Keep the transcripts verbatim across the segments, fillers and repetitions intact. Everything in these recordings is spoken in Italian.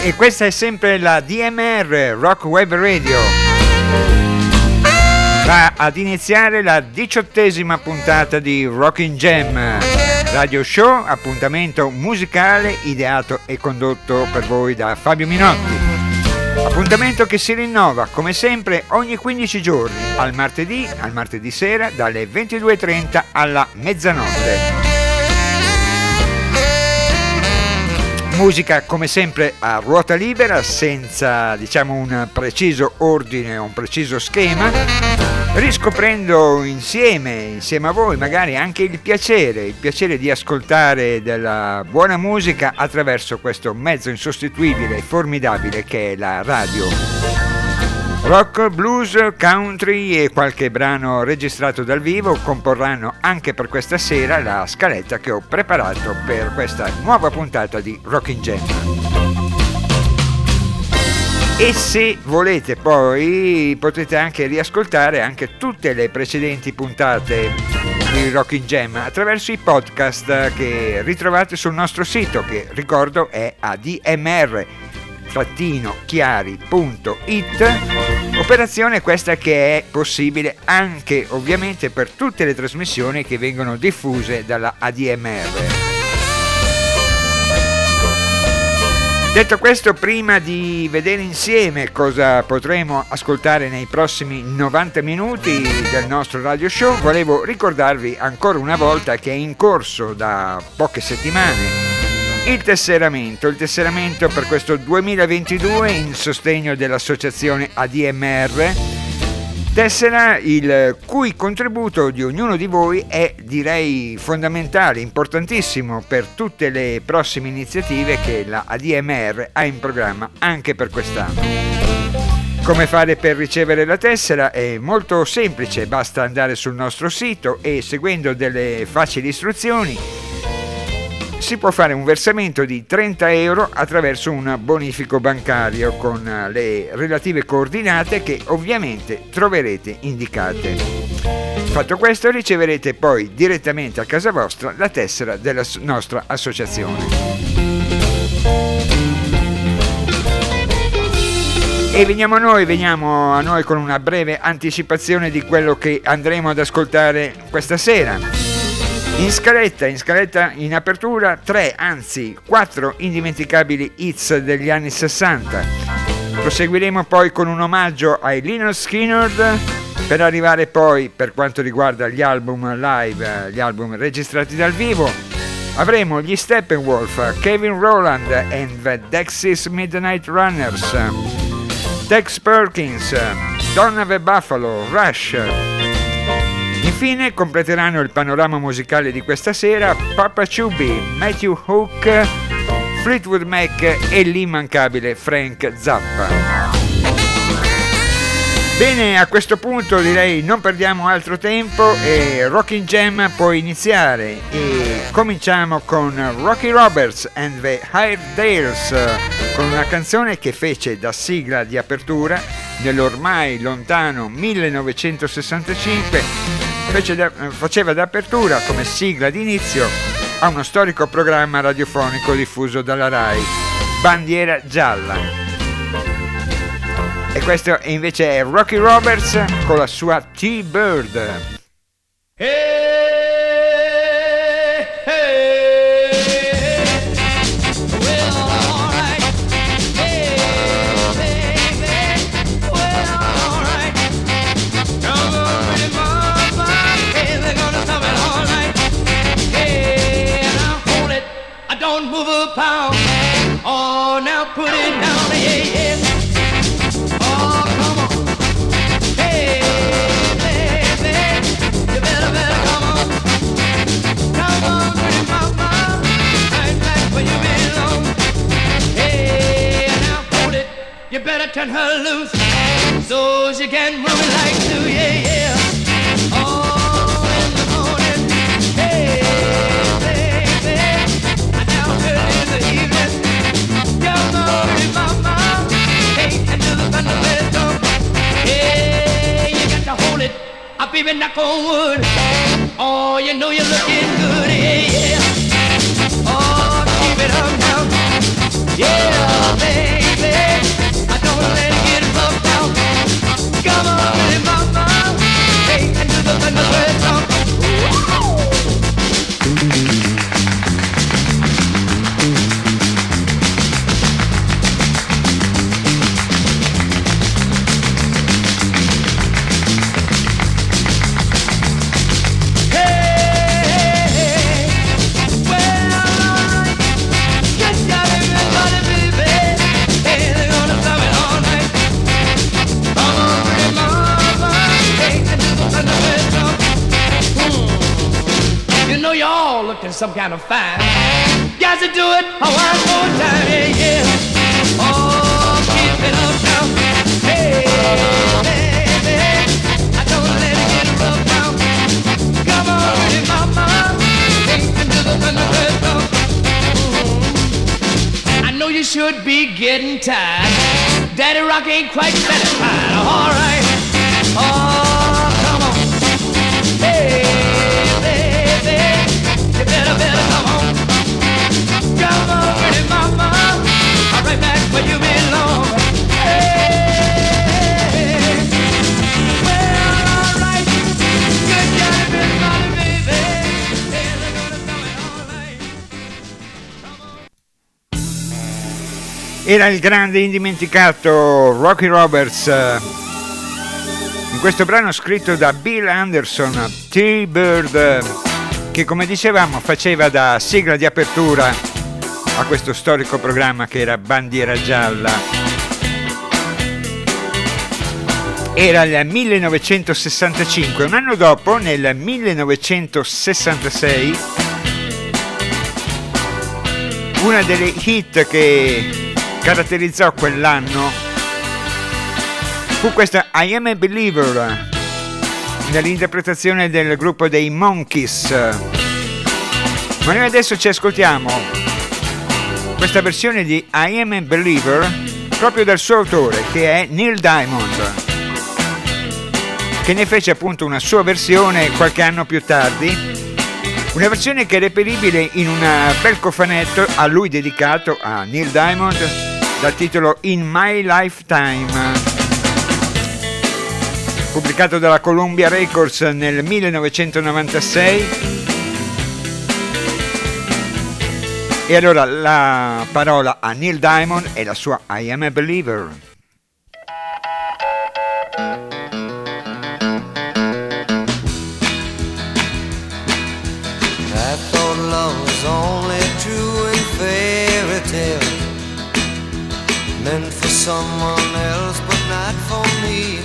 E questa è sempre la D M R, Rock Web Radio. Va ad iniziare la diciottesima puntata di Rockin' Jam, radio show, appuntamento musicale ideato e condotto per voi da Fabio Minotti. Appuntamento che si rinnova come sempre ogni quindici giorni, al martedì, al martedì sera dalle ventidue e trenta alla mezzanotte. Musica come sempre a ruota libera, senza diciamo un preciso ordine o un preciso schema, riscoprendo insieme, insieme a voi magari anche il piacere, il piacere di ascoltare della buona musica attraverso questo mezzo insostituibile e formidabile che è la radio. Rock, blues, country e qualche brano registrato dal vivo comporranno anche per questa sera la scaletta che ho preparato per questa nuova puntata di Rockin' Jam. E se volete poi potete anche riascoltare anche tutte le precedenti puntate di Rockin' Jam attraverso i podcast che ritrovate sul nostro sito, che ricordo è a d m r chiari punto i t. Operazione questa che è possibile anche ovviamente per tutte le trasmissioni che vengono diffuse dalla A D M R. Detto questo, prima di vedere insieme cosa potremo ascoltare nei prossimi novanta minuti del nostro radio show, volevo ricordarvi ancora una volta che è in corso da poche settimane il tesseramento, il tesseramento per questo duemilaventidue in sostegno dell'associazione A D M R, tessera il cui contributo di ognuno di voi è direi fondamentale, importantissimo per tutte le prossime iniziative che la A D M R ha in programma anche per quest'anno. Come fare per ricevere la tessera? È molto semplice, basta andare sul nostro sito e seguendo delle facili istruzioni si può fare un versamento di trenta euro attraverso un bonifico bancario con le relative coordinate che ovviamente troverete indicate. Fatto questo, riceverete poi direttamente a casa vostra la tessera della nostra associazione. E veniamo a noi, veniamo a noi con una breve anticipazione di quello che andremo ad ascoltare questa sera. In scaletta, in scaletta in apertura, tre, anzi quattro indimenticabili hits degli anni sessanta. Proseguiremo poi con un omaggio ai Lynyrd Skynyrd, per arrivare poi, per quanto riguarda gli album live, gli album registrati dal vivo, avremo gli Steppenwolf, Kevin Rowland and the Dexys Midnight Runners, Tex Perkins, Donna the Buffalo, Rush. Infine completeranno il panorama musicale di questa sera Papa Chubby, Matthew Hook, Fleetwood Mac e l'immancabile Frank Zappa. Bene, a questo punto direi non perdiamo altro tempo e Rockin' Jam può iniziare e cominciamo con Rocky Roberts and the Hairdales, con una canzone che fece da sigla di apertura nell'ormai lontano millenovecentosessantacinque. Fece da, faceva d'apertura come sigla d'inizio a uno storico programma radiofonico diffuso dalla Rai, Bandiera Gialla. E questo invece è Rocky Roberts con la sua T-Bird. Hey! Pound. Oh, now put it down, yeah, yeah. Oh, come on. Hey, baby, you better, better come on. Come on, pretty mama, right back where you belong. Hey, now hold it, you better turn her loose so she can move it like two, yeah, yeah. Oh, in the morning, hey, baby, now early in the evening, come on, pretty mama, hey, and do the fundamental. Hey, you got to hold it, I baby knock on wood. Oh, you know you're looking good, yeah, yeah. Oh, keep it up now, yeah, baby. some kind of fine. Got to do it one more time, yeah, yeah. Oh, keep it up now. Hey, baby, I don't let it get rough now. Come on, pretty mama, take me to the thunderbird now. I know you should be getting tired. Daddy Rock ain't quite satisfied. All right, oh, come on. Hey, baby, you better, better come on. Come on, pretty mama, I'm right back where you belong. Hey, well, all right, good job, pretty mama, baby. Hey, they're gonna do it all right. Era il grande indimenticato Rocky Roberts eh, in questo brano scritto da Bill Anderson, T-Bird, eh, che come dicevamo faceva da sigla di apertura a questo storico programma che era Bandiera Gialla. Era il millenovecentosessantacinque, un anno dopo, nel millenovecentosessantasei, una delle hit che caratterizzò quell'anno fu questa I Am a Believer, nell'interpretazione del gruppo dei Monkees. Ma noi adesso ci ascoltiamo questa versione di I Am a Believer proprio dal suo autore, che è Neil Diamond, che ne fece appunto una sua versione qualche anno più tardi, una versione che è reperibile in un bel cofanetto a lui dedicato, a Neil Diamond, dal titolo In My Lifetime, pubblicato dalla Columbia Records nel millenovecentonovantasei. E allora la parola a Neil Diamond e la sua I Am a Believer. I thought love was only true in fairy tales, meant for someone else but not for me.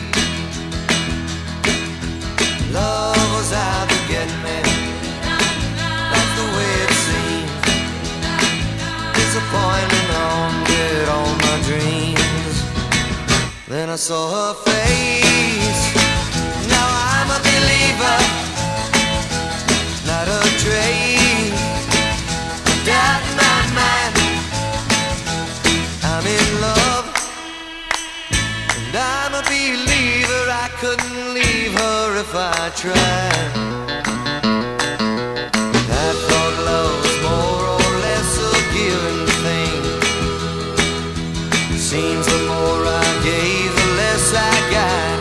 Love was out to get me, that's the way it seems. Disappointment haunted all my dreams. Then I saw her face, now I'm a believer, not a trace, doubt in my mind. I'm in love, and I'm a believer. I couldn't leave her if I tried. I thought love was more or less a given thing. Seems the more I gave, the less I got.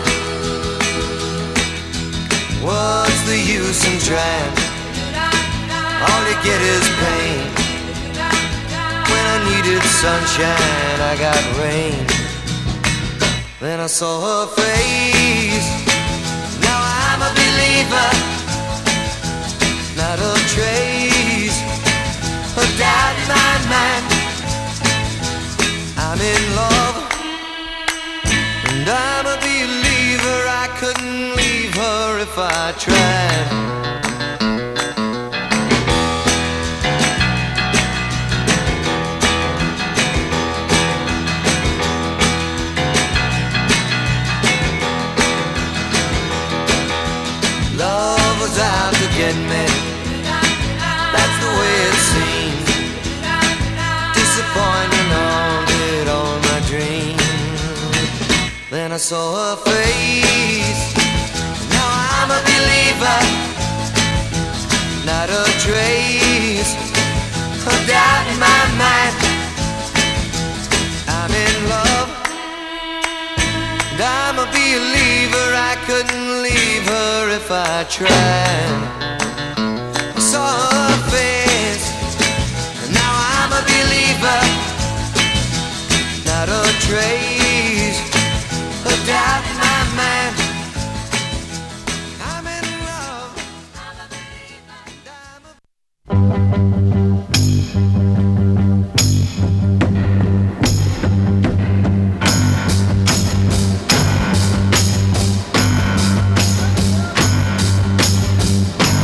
What's the use in trying? All you get is pain. When I needed sunshine, I got rain. Then I saw her face, now I'm a believer, not a trace, a doubt in my mind. I'm in love, and I'm a believer. I couldn't leave her if I tried. Get me, that's the way it seems. Disappointment haunted all my dreams. Then I saw her face, now I'm a believer, not a trace, a doubt in my mind. I'm in love, and I'm a believer. I couldn't leave her if I tried. Saw her face, and now I'm a believer, not a trace, a doubt in my mind. I'm in love, I'm a believer, I'm a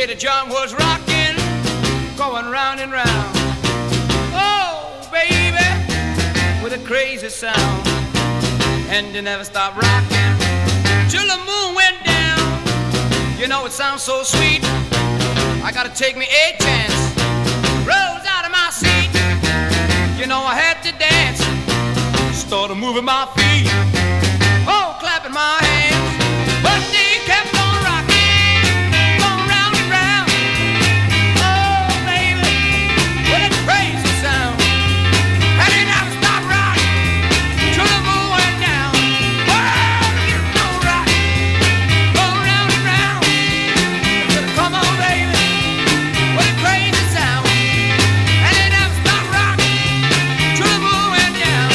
the joint was rocking, going round and round. Oh, baby, with a crazy sound. And they never stopped rocking till the moon went down. You know it sounds so sweet, I gotta take me a chance. Rose out of my seat, you know I had to dance. Started moving my feet, oh, clapping my hands. But they kept on rocking, going round and round. Oh, baby, what a crazy sound. And they never stopped rocking till the moon went down. Oh, you know rocking, going round and round. Come on, baby, what a crazy sound. And they never stopped rocking till the moon went down.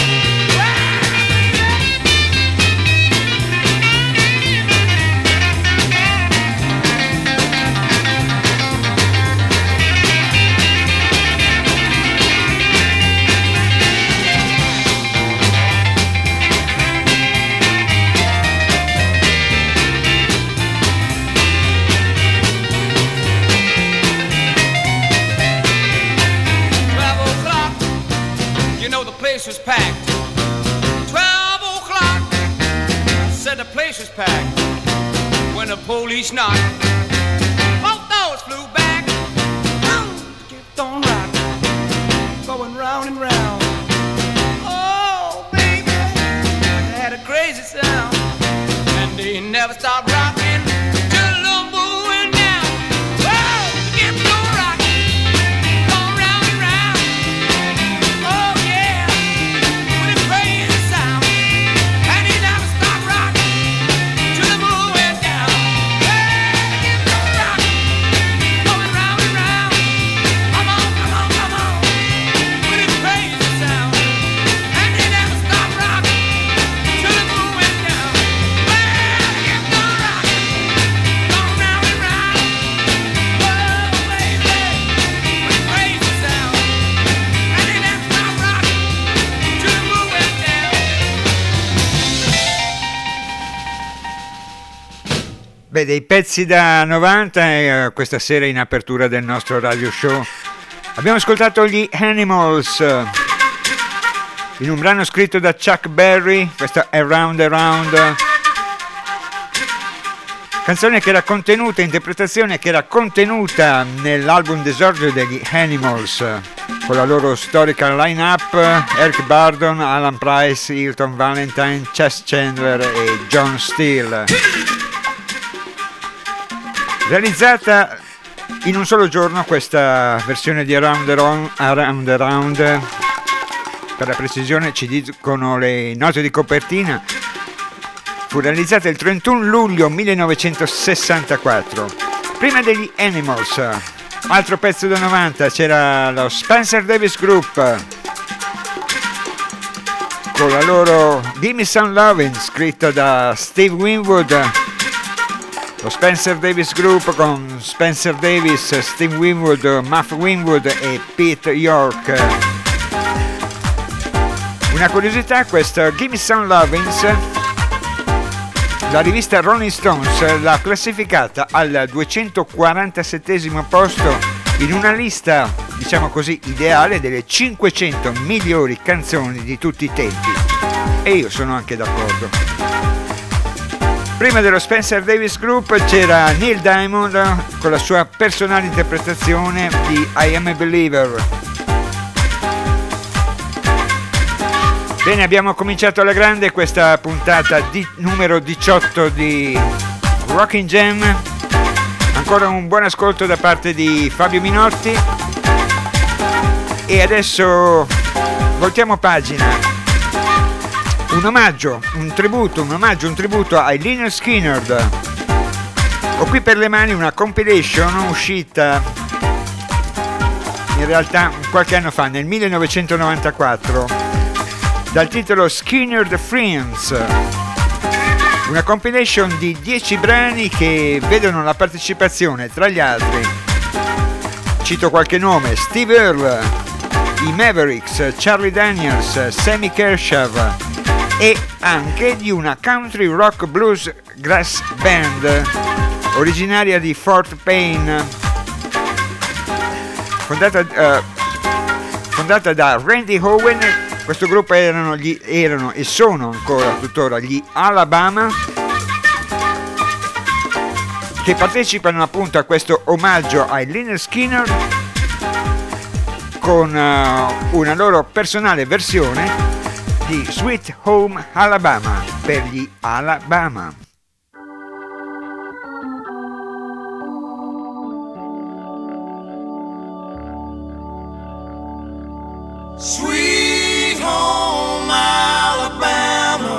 Twelve o'clock, you know the place was packed. Twelve o'clock, I said the place was packed. When the police knocked, both doors flew back. Oh, kept on rocking, going round and round. Oh, baby, they had a crazy sound. And they never stopped rocking till the moon went down. Oh, kept on rocking, going round and round. Oh, yeah, with a crazy sound. And they never stopped rocking till the moon went down. Hey, kept on rocking, going round and round. Come on, come on, come on, with a crazy sound. And they never stopped rocking till the moon went down. Well, kept on rocking, going round and round. Oh, baby, with a crazy sound. And they never stopped rocking till the moon went down. Beh, dei pezzi da novanta eh, questa sera in apertura del nostro radio show. Abbiamo ascoltato gli Animals eh, in un brano scritto da Chuck Berry, questa Around Around, canzone che era contenuta, interpretazione che era contenuta nell'album d'esordio degli Animals, eh, con la loro storica line-up: Eric Burdon, Alan Price, Hilton Valentine, Chess Chandler e John Steele. Realizzata in un solo giorno questa versione di Around Around, Around Around, per la precisione ci dicono le note di copertina, fu realizzata il trentuno luglio millenovecentosessantaquattro. Prima degli Animals, altro pezzo da novanta, c'era lo Spencer Davis Group con la loro Gimme Some Lovin', scritto da Steve Winwood. Lo Spencer Davis Group con Spencer Davis, Steve Winwood, Muff Winwood e Pete York. Una curiosità, questo Gimme Some Lovins, la rivista Rolling Stones l'ha classificata al duecentoquarantasettesimo posto in una lista, diciamo così, ideale delle cinquecento migliori canzoni di tutti i tempi. E io sono anche d'accordo. Prima dello Spencer Davis Group c'era Neil Diamond con la sua personale interpretazione di I Am a Believer. Bene, abbiamo cominciato alla grande questa puntata di numero diciotto di Rockin' Jam. Ancora un buon ascolto da parte di Fabio Minotti. E adesso voltiamo pagina. Un omaggio, un tributo, un omaggio, un tributo ai Lynyrd Skynyrd. Ho qui per le mani una compilation uscita in realtà qualche anno fa, nel millenovecentonovantaquattro, dal titolo Skynyrd Friends. Una compilation di dieci brani che vedono la partecipazione, tra gli altri, cito qualche nome: Steve Earle, i Mavericks, Charlie Daniels, Sammy Kershaw, e anche di una country rock blues grass band originaria di Fort Payne, fondata, uh, fondata da Randy Owen. Questo gruppo erano, gli, erano e sono ancora tuttora gli Alabama, che partecipano appunto a questo omaggio ai Lynyrd Skynyrd con uh, una loro personale versione di Sweet Home Alabama per gli Alabama. Sweet home Alabama,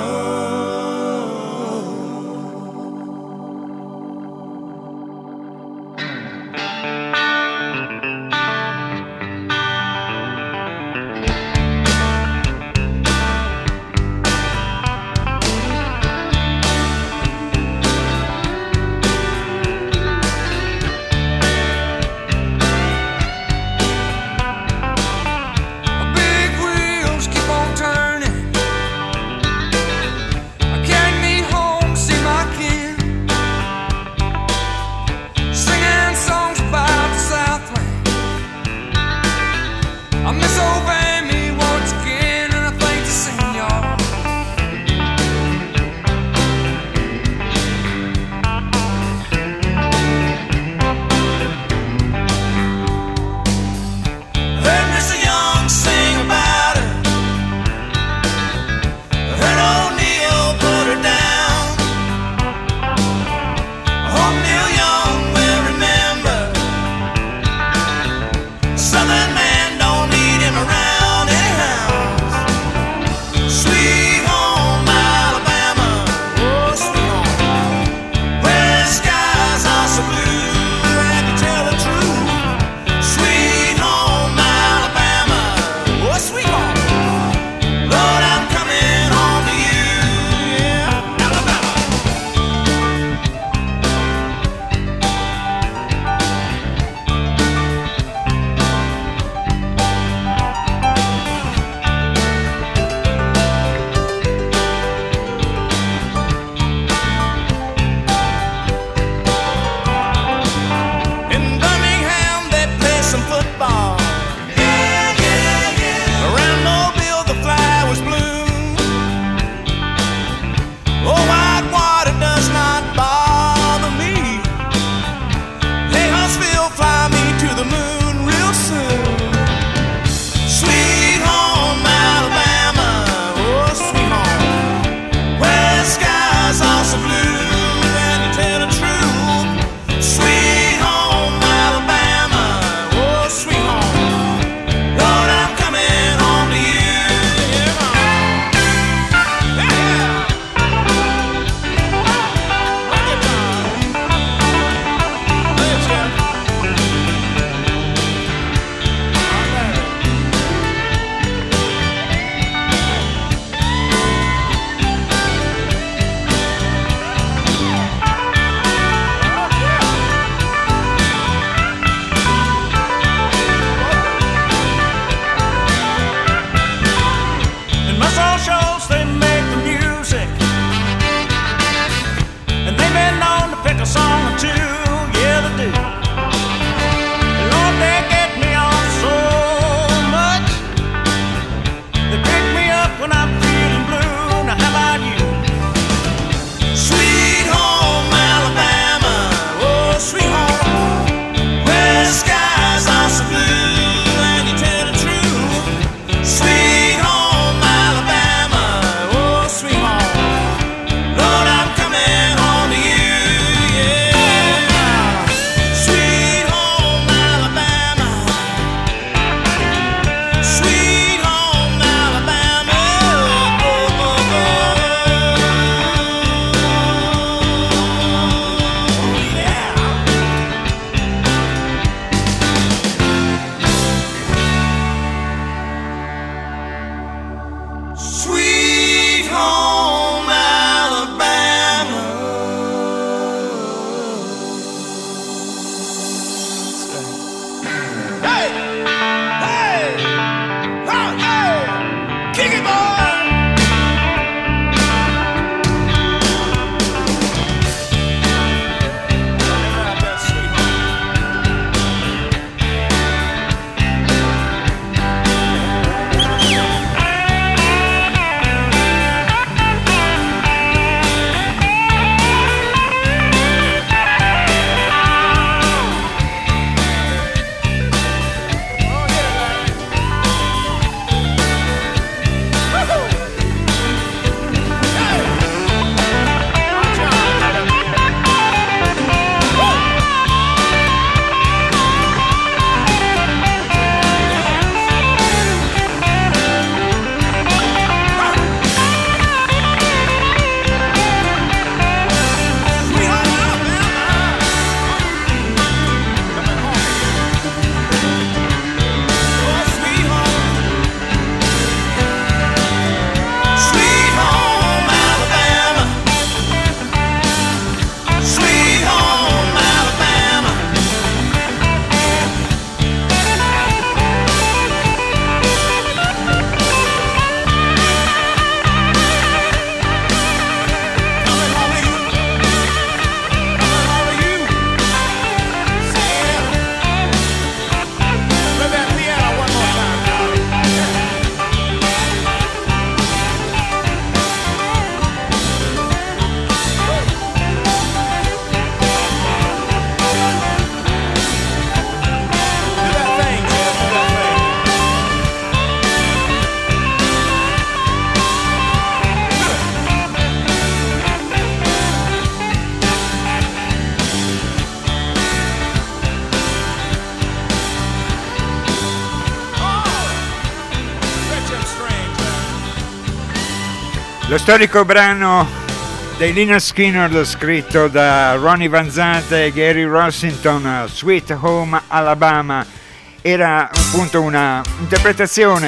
Lo storico brano dei Lynyrd Skynyrd scritto da Ronnie Van Zant e Gary Rossington, Sweet Home Alabama, era appunto una interpretazione,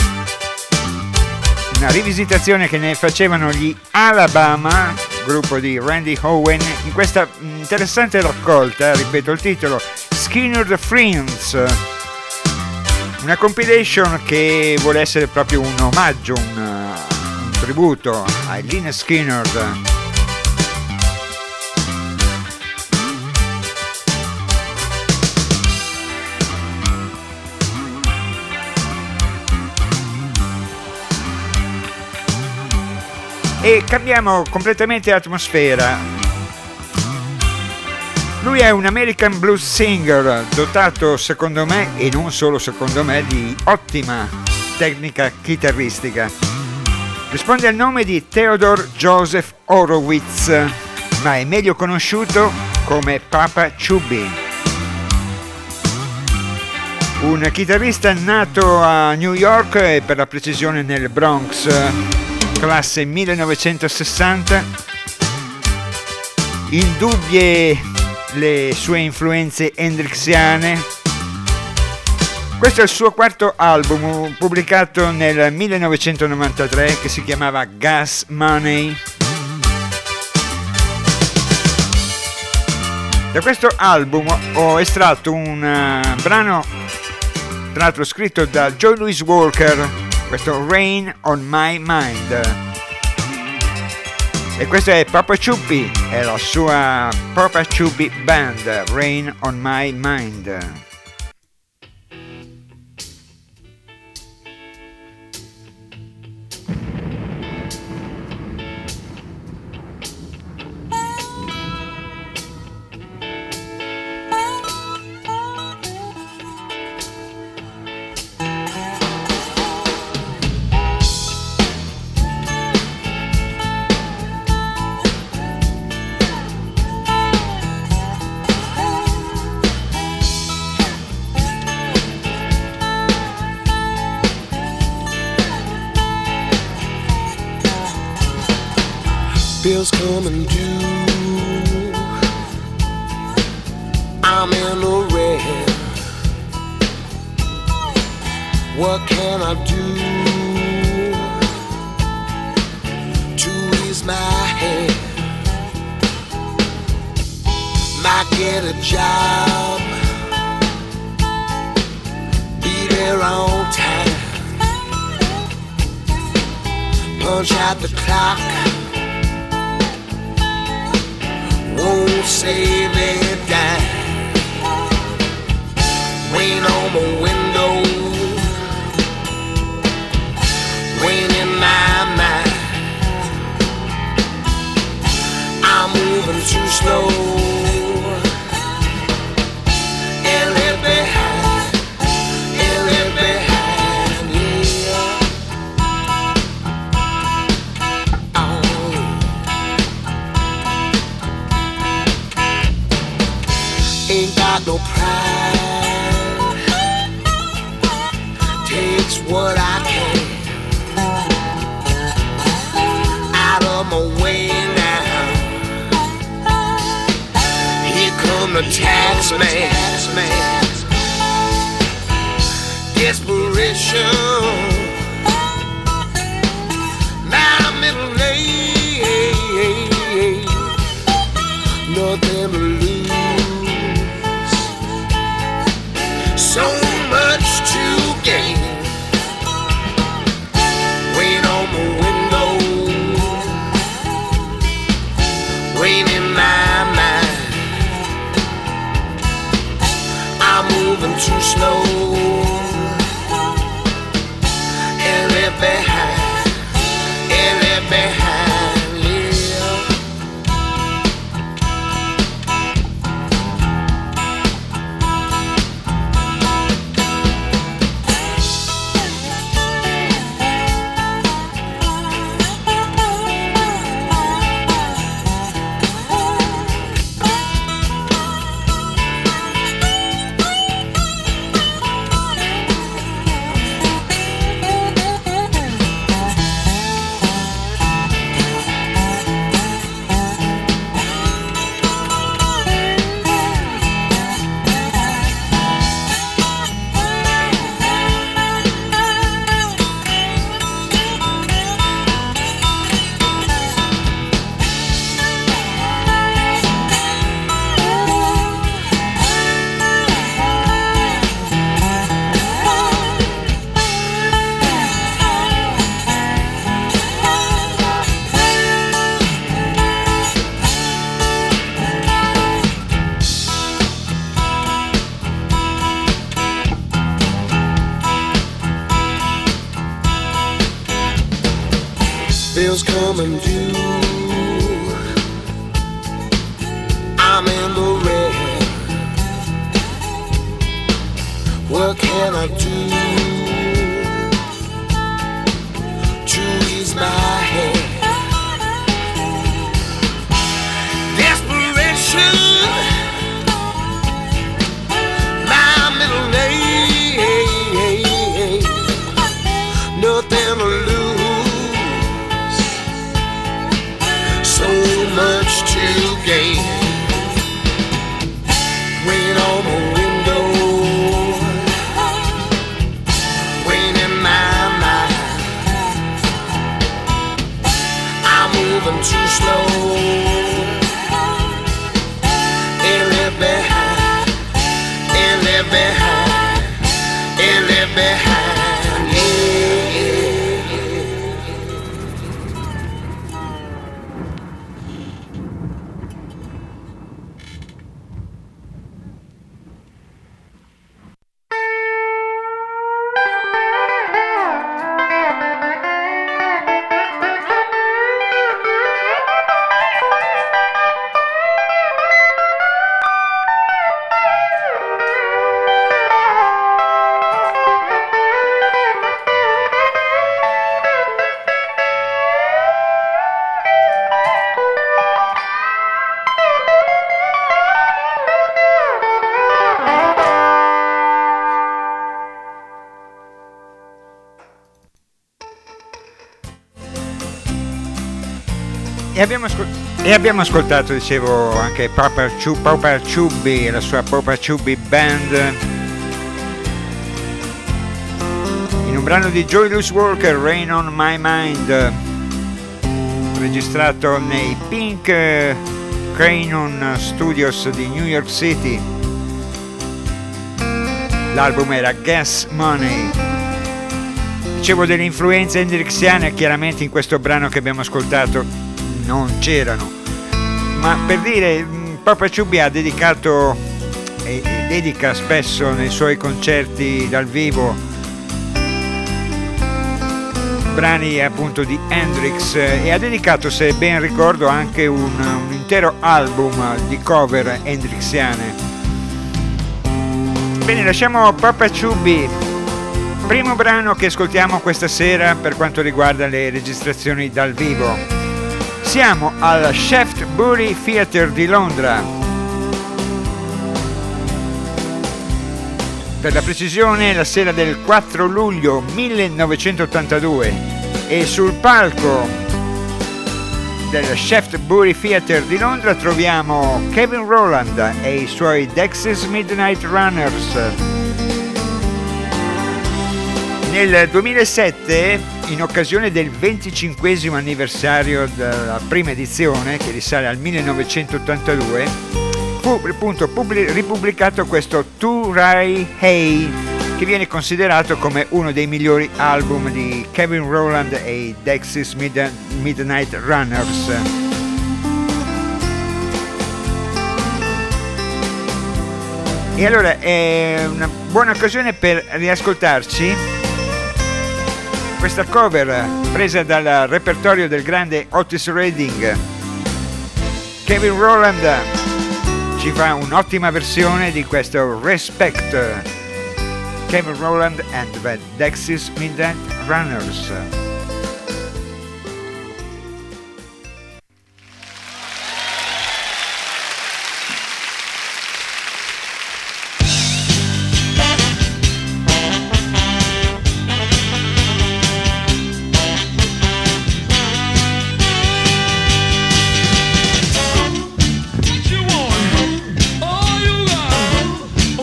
una rivisitazione che ne facevano gli Alabama, gruppo di Randy Owen, in questa interessante raccolta, ripeto il titolo, Skynyrd Friends, una compilation che vuole essere proprio un omaggio, un tributo ai Lynyrd Skynyrd. E cambiamo completamente atmosfera. Lui è un American blues singer dotato, secondo me, e non solo secondo me, di ottima tecnica chitarristica. Risponde al nome di Theodore Joseph Horowitz, ma è meglio conosciuto come Papa Chubby. Un chitarrista nato a New York e per la precisione nel Bronx, classe millenovecentosessanta. Indubbie le sue influenze hendrixiane. Questo è il suo quarto album, pubblicato nel millenovecentonovantatré, che si chiamava Gas Money. Da questo album ho estratto un uh, brano, tra l'altro scritto da Joe Louis Walker, questo Rain on My Mind. E questo è Papa Chubby, è la sua Papa Chubby Band, Rain on My Mind. Bills coming due, I'm in the red. What can I do to ease my head? Might get a job, be there on time, punch out the clock, won't save a dime. Rain on my window, rain in my mind. I'm moving too slow and left behind, and left behind, yeah. Oh. Ain't got no pride, takes what I can, out of my way now. Here come the tax man, desperation, now I'm in late, nothing to lose. So much to gain. Rain on my window, rain in my mind. I'm moving too slow and left behind, and left behind, yeah. I do to ease my head? Desperation, my middle name. Nothing to lose, so much to gain. Rain on the window, rain in my mind. I'm moving too slow, and live behind, and live behind, and live behind, yeah. E abbiamo, ascol- e abbiamo ascoltato, dicevo, anche Papa, Chu- Papa Chubby e la sua Papa Chubby Band in un brano di Joyless Walker, Rain on My Mind, registrato nei Pink Crayon Studios di New York City. L'album era Gas Money. Dicevo delle influenze hendrixiane, chiaramente in questo brano che abbiamo ascoltato non c'erano, ma per dire, Papa Chubby ha dedicato e dedica spesso nei suoi concerti dal vivo brani appunto di Hendrix, e ha dedicato, se ben ricordo, anche un, un intero album di cover hendrixiane. Bene, lasciamo Papa Chubby. Primo brano che ascoltiamo questa sera per quanto riguarda le registrazioni dal vivo. Siamo al Shaftesbury Theatre di Londra. Per la precisione, la sera del quattro luglio millenovecentottantadue, e sul palco del Shaftesbury Theatre di Londra troviamo Kevin Rowland e i suoi Dexys Midnight Runners. Nel duemilasette, in occasione del venticinquesimo anniversario della prima edizione, che risale al millenovecentottantadue, fu appunto pubblic- ripubblicato questo To Rai Hey, che viene considerato come uno dei migliori album di Kevin Rowland e i Dexys Mid- Midnight Runners. E allora è una buona occasione per riascoltarci questa cover presa dal repertorio del grande Otis Redding. Kevin Rowland ci fa un'ottima versione di questo Respect. Kevin Rowland and the Dexys Midnight Runners.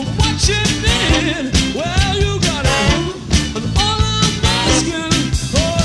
Well, you got it, and all of my skin. Oh,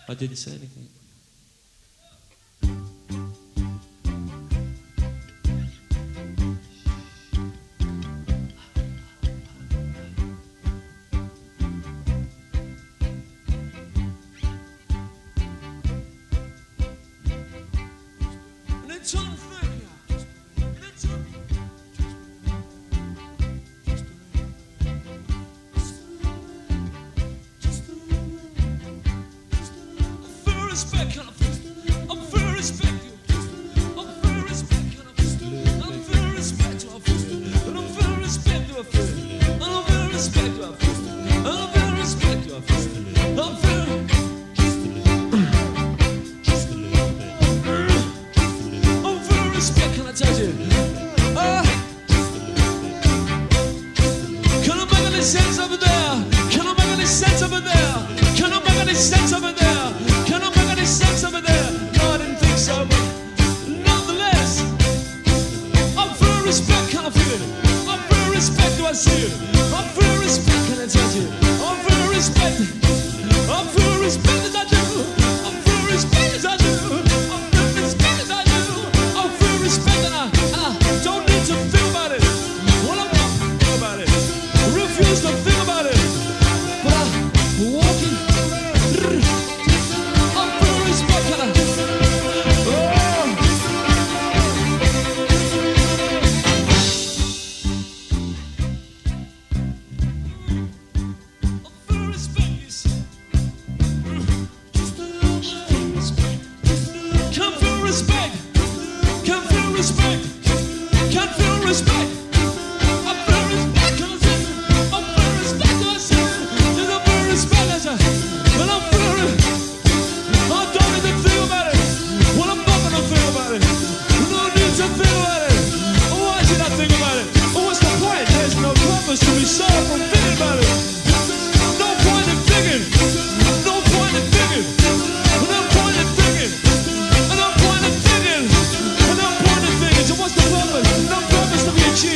I didn't say anything. What's the purpose? No purpose to be achieved.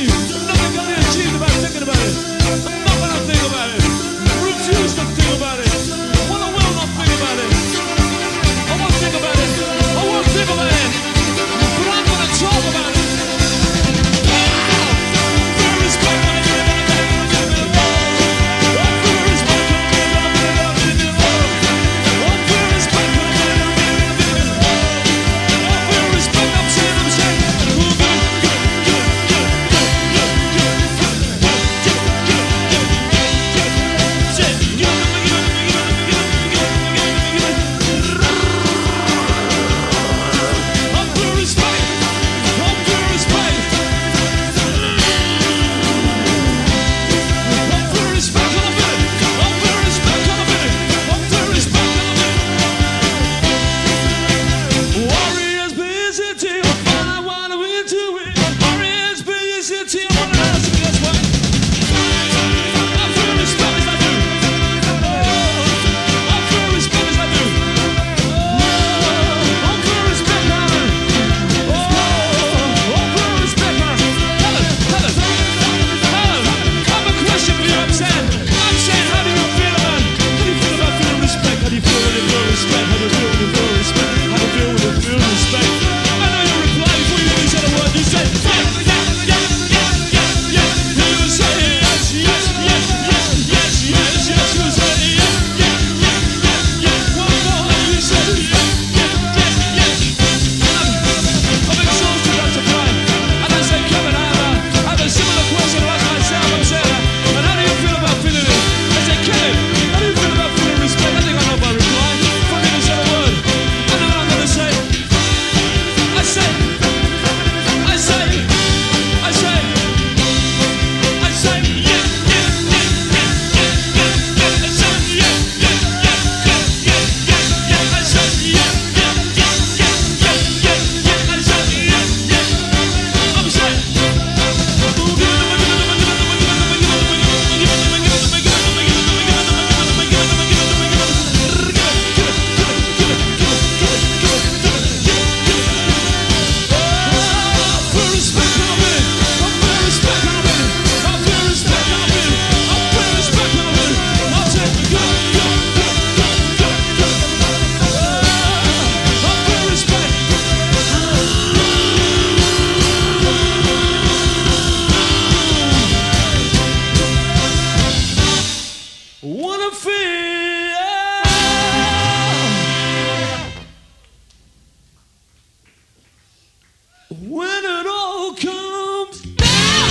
when it all comes down.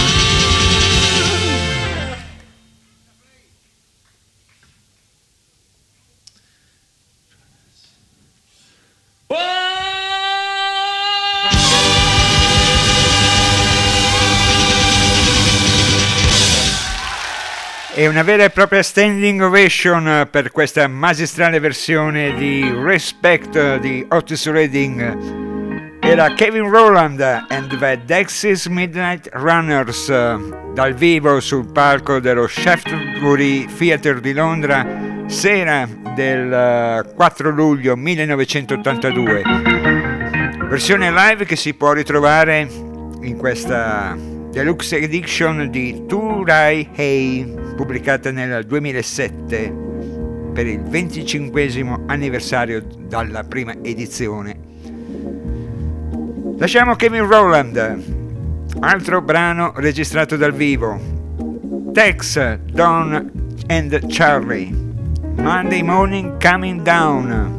È una vera e propria standing ovation per questa magistrale versione di Respect di Otis Redding. Era Kevin Rowland and the Dexys Midnight Runners dal vivo sul palco dello Shaftesbury Theatre di Londra, sera del quattro luglio millenovecentottantadue. Versione live che si può ritrovare in questa deluxe edition di Turai Hey, pubblicata nel duemilasette per il venticinquesimo anniversario dalla prima edizione. Lasciamo Kevin Rowland, altro brano registrato dal vivo, Tex, Don and Charlie, Monday Morning Coming Down.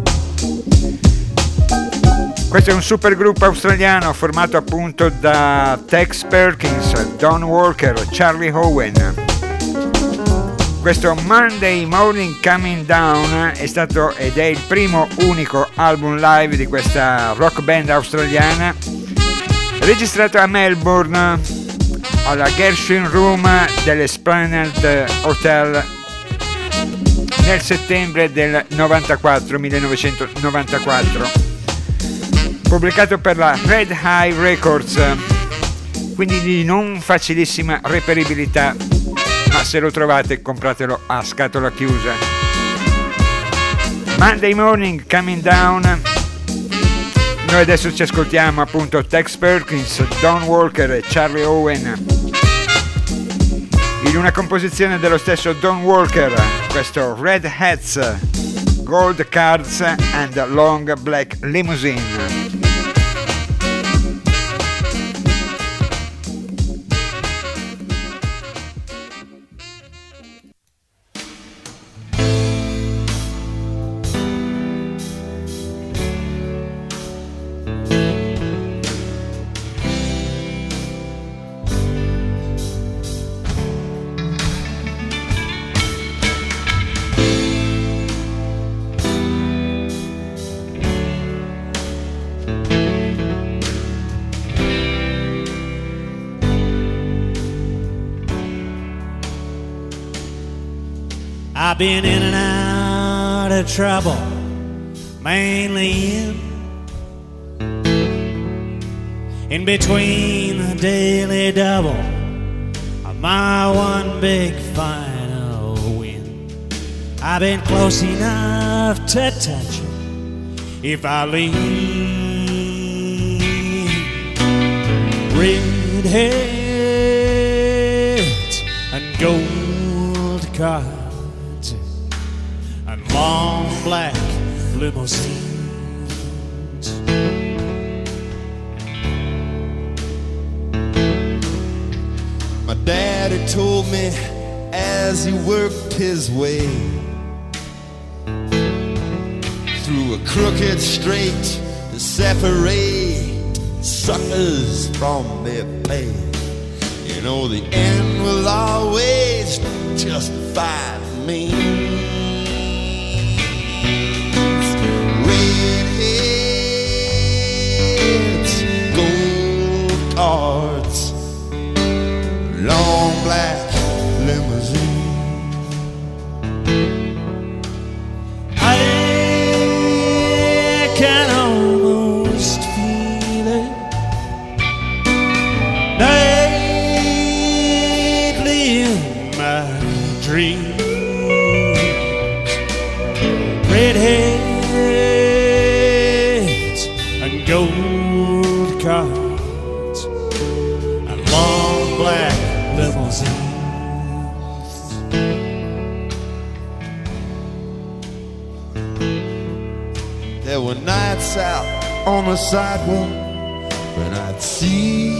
Questo è un supergruppo australiano formato appunto da Tex Perkins, Don Walker, Charlie Owen. Questo Monday Morning Coming Down è stato ed è il primo unico album live di questa rock band australiana, registrato a Melbourne alla Gershwin Room dell'Esplanade Hotel nel settembre del novantaquattro, millenovecentonovantaquattro. Pubblicato per la Red Eye Records, quindi di non facilissima reperibilità, ma se lo trovate compratelo a scatola chiusa. Monday Morning Coming Down. Noi adesso ci ascoltiamo appunto Tex Perkins, Don Walker e Charlie Owen in una composizione dello stesso Don Walker, questo Red Hats, Gold Cards and Long Black Limousine. I've been in and out of trouble, mainly in in between the daily double of my one big final win. I've been close enough to touch it if I leave. Red heads and gold cards and long black limousines. My daddy told me as he worked his way through a crooked straight to separate suckers from their pay. You know the end will always justify me. Redheads, gold cards, long black limousine. I can almost feel it nightly in my dreams. Redheads and gold cards and long black limousines. There were nights out on the sidewalk when I'd see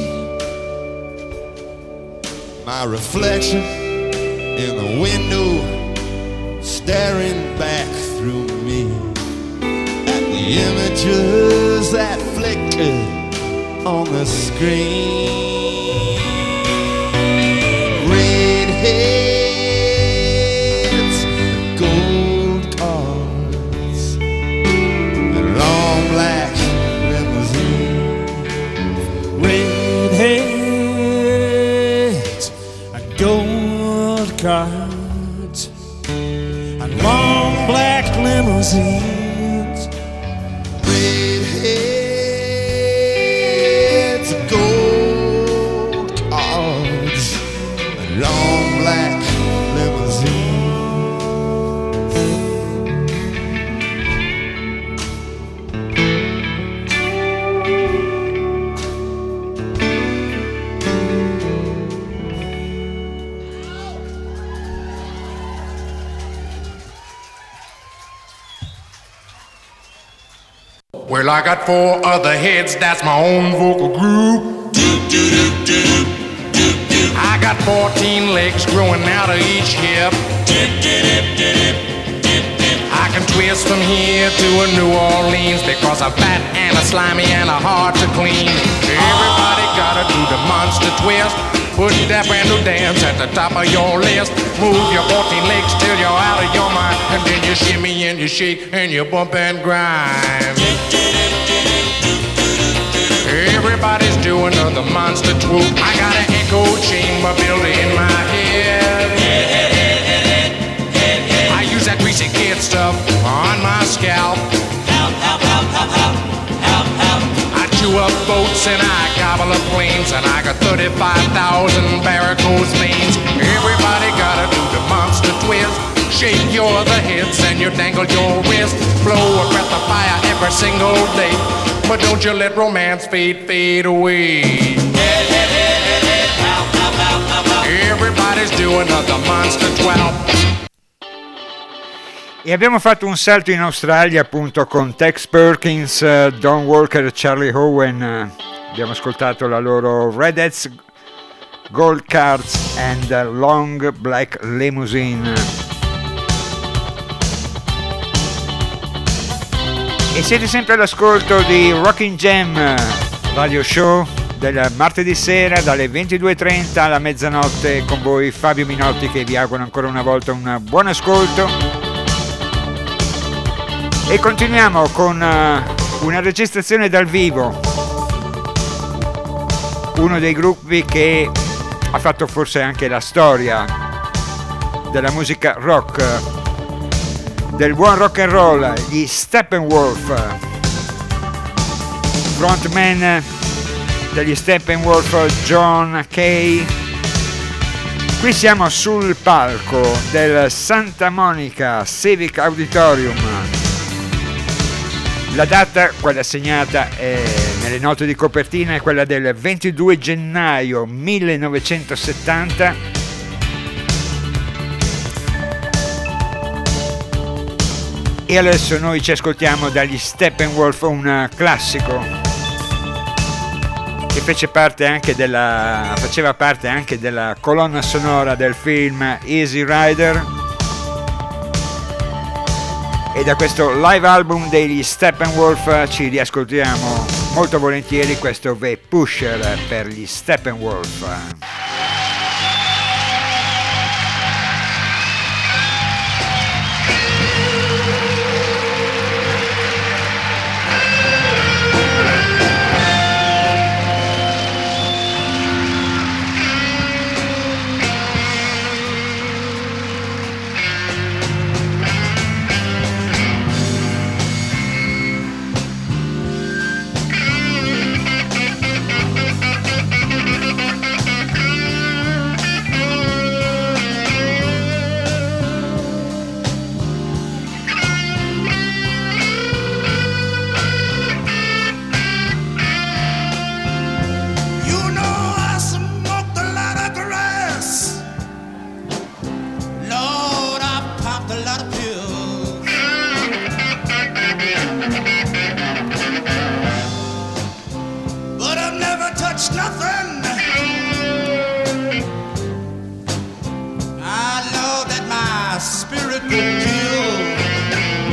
my reflection in the window staring back through me at the images that flickered on the screen. Redheads, gold cars, and long black limousines. Redheads, and gold cars, and long black limousines. Redheads, gold cars, and long black limousines. Well, I got four other heads, that's my own vocal group. I got fourteen legs growing out of each hip. I can twist from here to a New Orleans because I'm fat and a slimy and a hard to clean. Everybody gotta do the monster twist. Put that brand new dance at the top of your list. Move your fourteen legs till you're out of your mind. And then you shimmy and you shake and you bump and grind. Everybody's doing the monster swoop. I got an echo chamber built in my head. I use that greasy kid stuff on my scalp. Help, help, help, help, help, help, help. I chew up boats and I gobble up planes, and I got thirty-five thousand varicose veins. Everybody gotta do the monster twist. Shake your other hips and you dangle your wrist. Blow a breath of fire every single day, but don't you let romance fade, fade away. Everybody's doing the monster twelve. E abbiamo fatto un salto in Australia appunto con Tex Perkins, uh, Don Walker e Charlie Owen. Uh, abbiamo ascoltato la loro Redheads, Gold Cards and uh, Long Black Limousine. E siete sempre all'ascolto di Rockin' Jam Radio Show del martedì sera dalle ventidue e trenta alla mezzanotte, con voi Fabio Minotti che vi auguro ancora una volta un buon ascolto. E continuiamo con uh, una registrazione dal vivo, uno dei gruppi che ha fatto forse anche la storia della musica rock, del buon rock and roll, gli Steppenwolf, frontman degli Steppenwolf John Kay. Qui siamo sul palco del Santa Monica Civic Auditorium. La data, quella segnata è nelle note di copertina, è quella del ventidue gennaio millenovecentosettanta. E adesso noi ci ascoltiamo dagli Steppenwolf un classico che fece parte anche della, faceva parte anche della colonna sonora del film Easy Rider. E da questo live album degli Steppenwolf ci riascoltiamo molto volentieri questo The Pusher per gli Steppenwolf.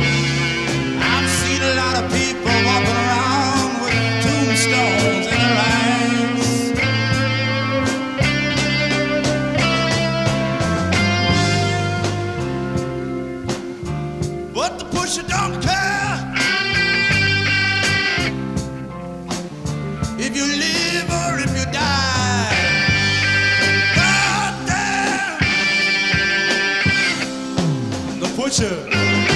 I've seen a lot of people walking around with tombstones in their eyes. you live or if you die. God damn the pusher.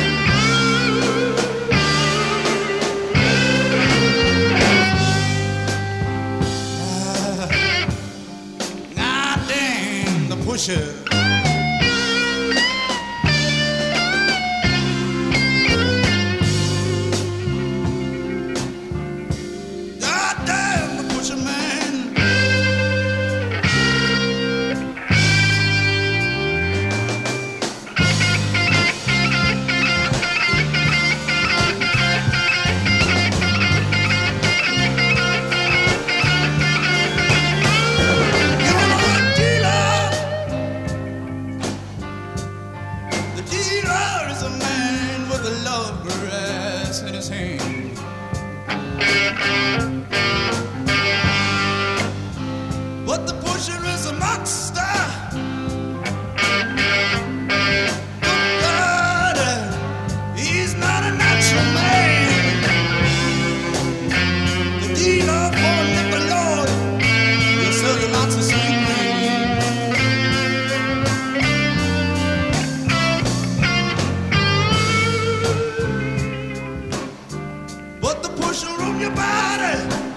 Pusher. God damn the pusher man. But the pusher is a monster. Good God, he's not a natural man. The dealer for the Lord, he'll sell you lots of sweet cream. But the pusher on your body,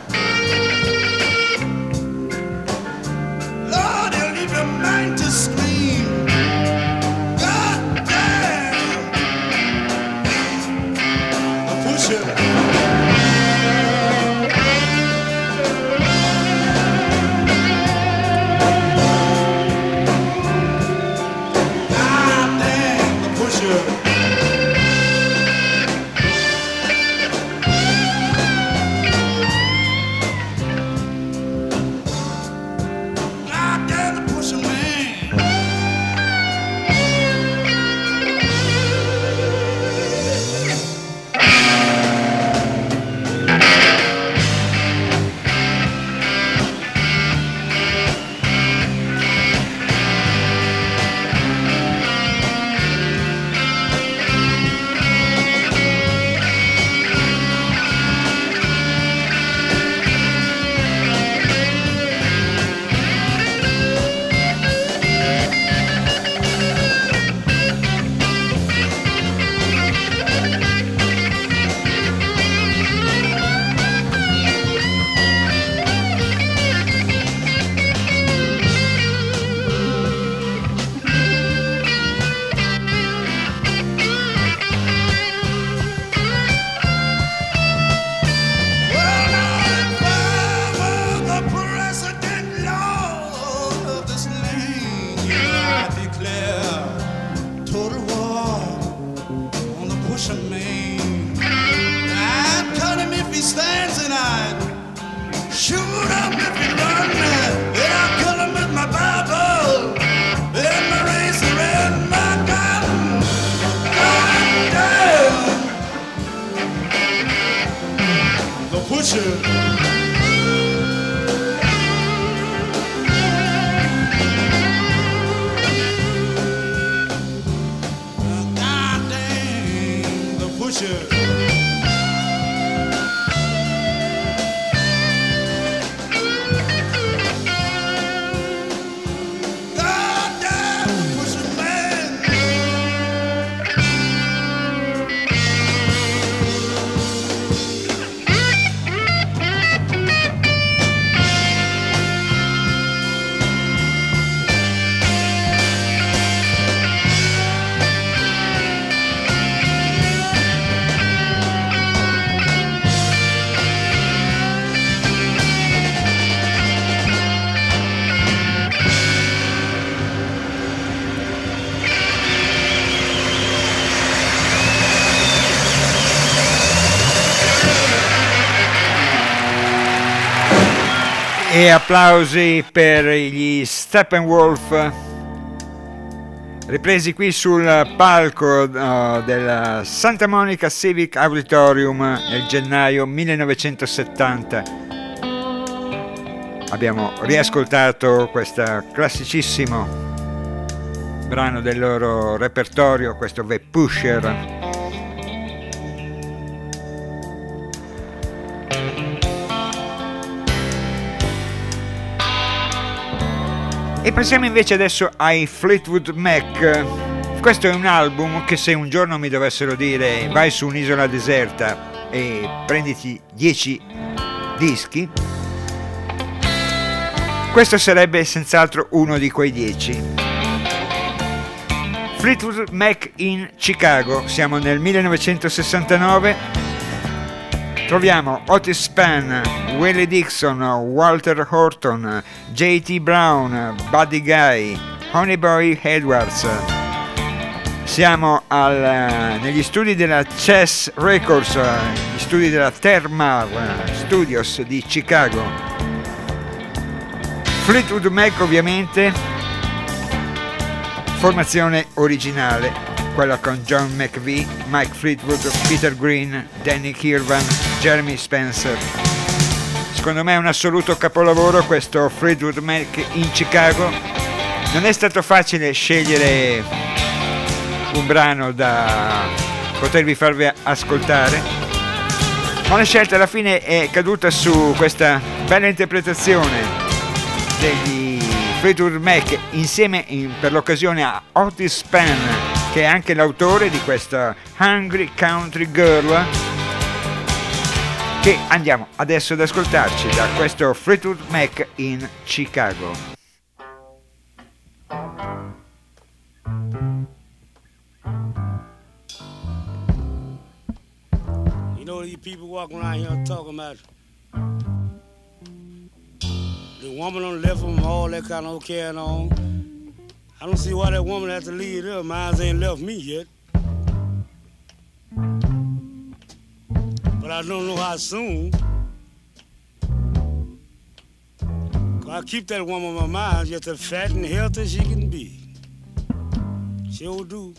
Lord, he'll leave your mind to scream. God damn the pusher. God damn the pusher. E applausi per gli Steppenwolf, ripresi qui sul palco uh, del Santa Monica Civic Auditorium nel gennaio millenovecentosettanta. Abbiamo riascoltato questo classicissimo brano del loro repertorio, questo The Pusher. E passiamo invece adesso ai Fleetwood Mac. Questo è un album che se un giorno mi dovessero dire vai su un'isola deserta e prenditi dieci dischi, questo sarebbe senz'altro uno di quei dieci. Fleetwood Mac in Chicago, siamo nel millenovecentosessantanove. Troviamo Otis Spann, Willie Dixon, Walter Horton, J T Brown, Buddy Guy, Honeyboy Edwards. Siamo al, negli studi della Chess Records, gli studi della Thermal Studios di Chicago. Fleetwood Mac ovviamente, formazione originale, quella con John McVie, Mike Fleetwood, Peter Green, Danny Kirwan, Jeremy Spencer. Secondo me è un assoluto capolavoro questo Fleetwood Mac in Chicago. Non è stato facile scegliere un brano da potervi farvi ascoltare, ma la scelta alla fine è caduta su questa bella interpretazione degli Fleetwood Mac insieme in, per l'occasione a Otis Spann, che è anche l'autore di questa Hungry Country Girl, che andiamo adesso ad ascoltarci da questo Fleetwood Mac in Chicago. You know these people walking around here talking about the woman on left them, all that kind of carrying on. I don't see why that woman has to leave her. Mine ain't left me yet. But I don't know how soon. I keep that woman on my mind just as fat and healthy as she can be. Sure do.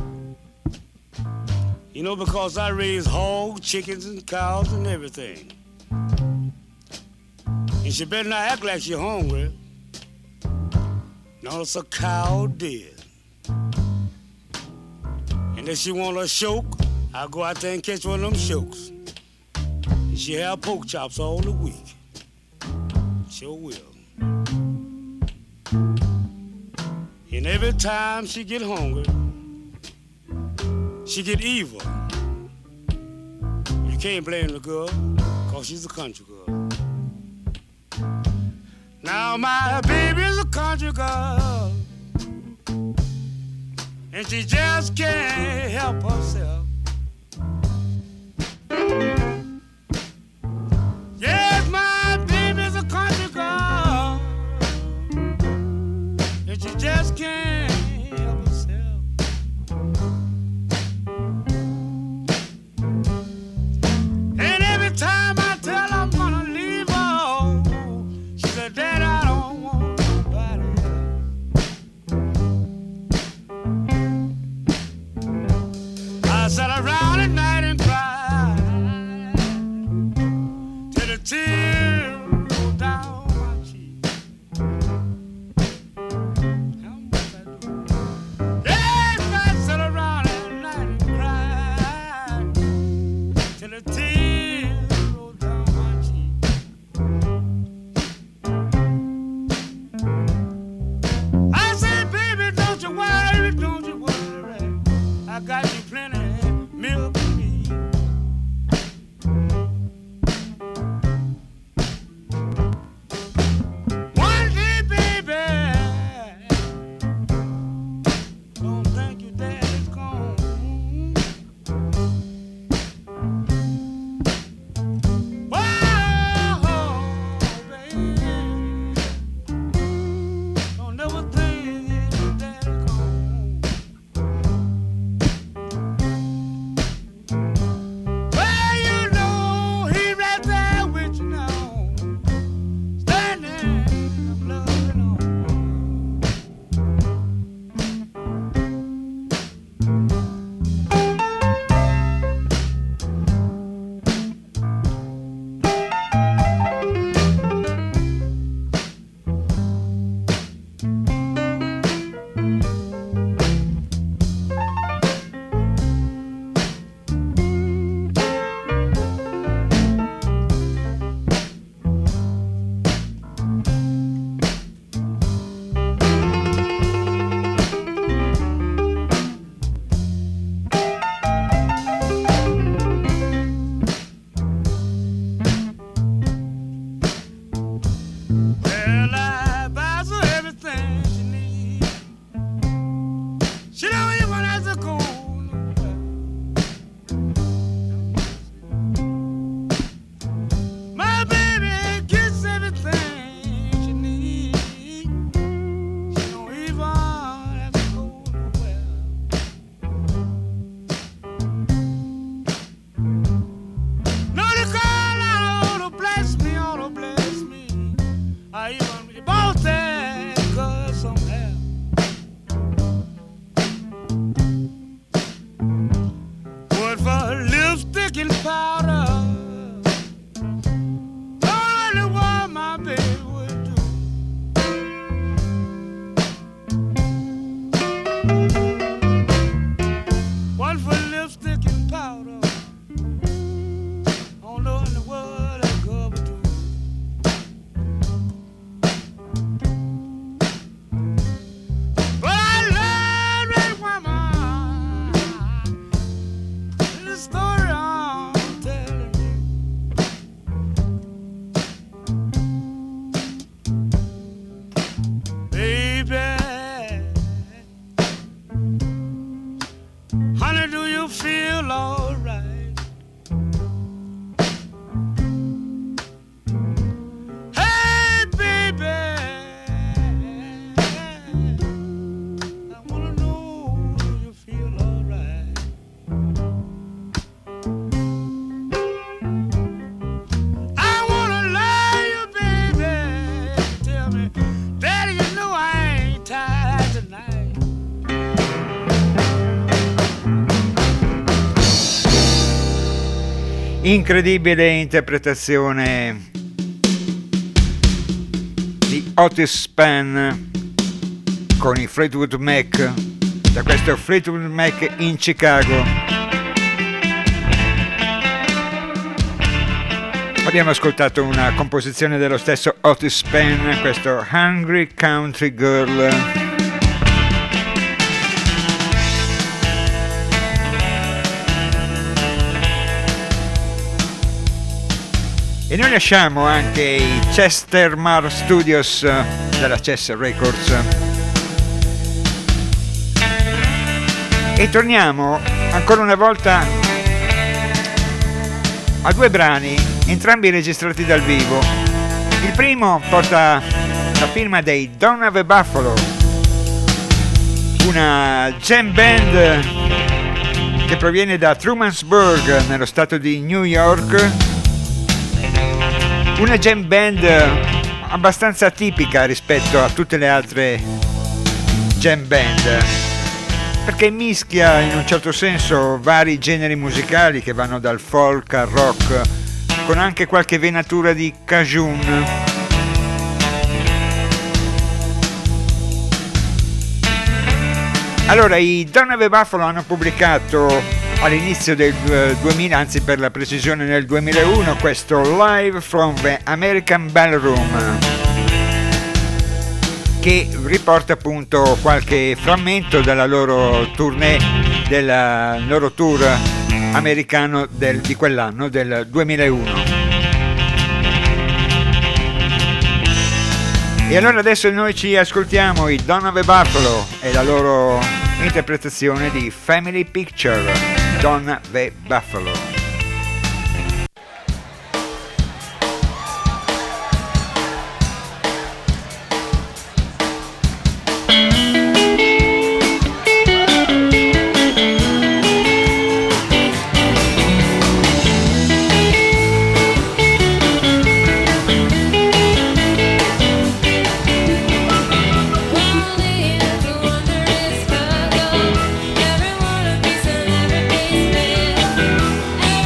You know, because I raise hogs, chickens, and cows and everything. And she better not act like she's hungry. No, it's a cow dead. And if she want a choke, I'll go out there and catch one of them chokes. And she have pork chops all the week. Sure will. And every time she get hungry, she get evil. You can't blame the girl, cause she's a country girl. Now my baby's a country girl, and she just can't help herself. Yes, my baby's a country girl, and she just can't help herself. And every time I tell her I'm gonna leave her, she said, Dad, I don't want nobody else. I Incredibile interpretazione di Otis Spann con i Fleetwood Mac, da questo Fleetwood Mac in Chicago. Abbiamo ascoltato una composizione dello stesso Otis Spann, questo Hungry Country Girl. E noi lasciamo anche i Chester Mar Studios della Chess Records e torniamo ancora una volta a due brani, entrambi registrati dal vivo. Il primo porta la firma dei Don't Have a Buffalo, una jam band che proviene da Trumansburg nello stato di New York. Una jam band abbastanza atipica rispetto a tutte le altre jam band, perché mischia in un certo senso vari generi musicali che vanno dal folk al rock, con anche qualche venatura di cajun. Allora, i Don't Have a Buffalo hanno pubblicato all'inizio del duemila, anzi per la precisione nel duemilauno, questo Live from the American Ballroom, che riporta appunto qualche frammento della loro tournée, del loro tour americano del, di quell'anno, del duemilauno. E allora adesso noi ci ascoltiamo i Don't Have a Buffalo e la loro interpretazione di Family Picture, Don't Have a Buffalo. Every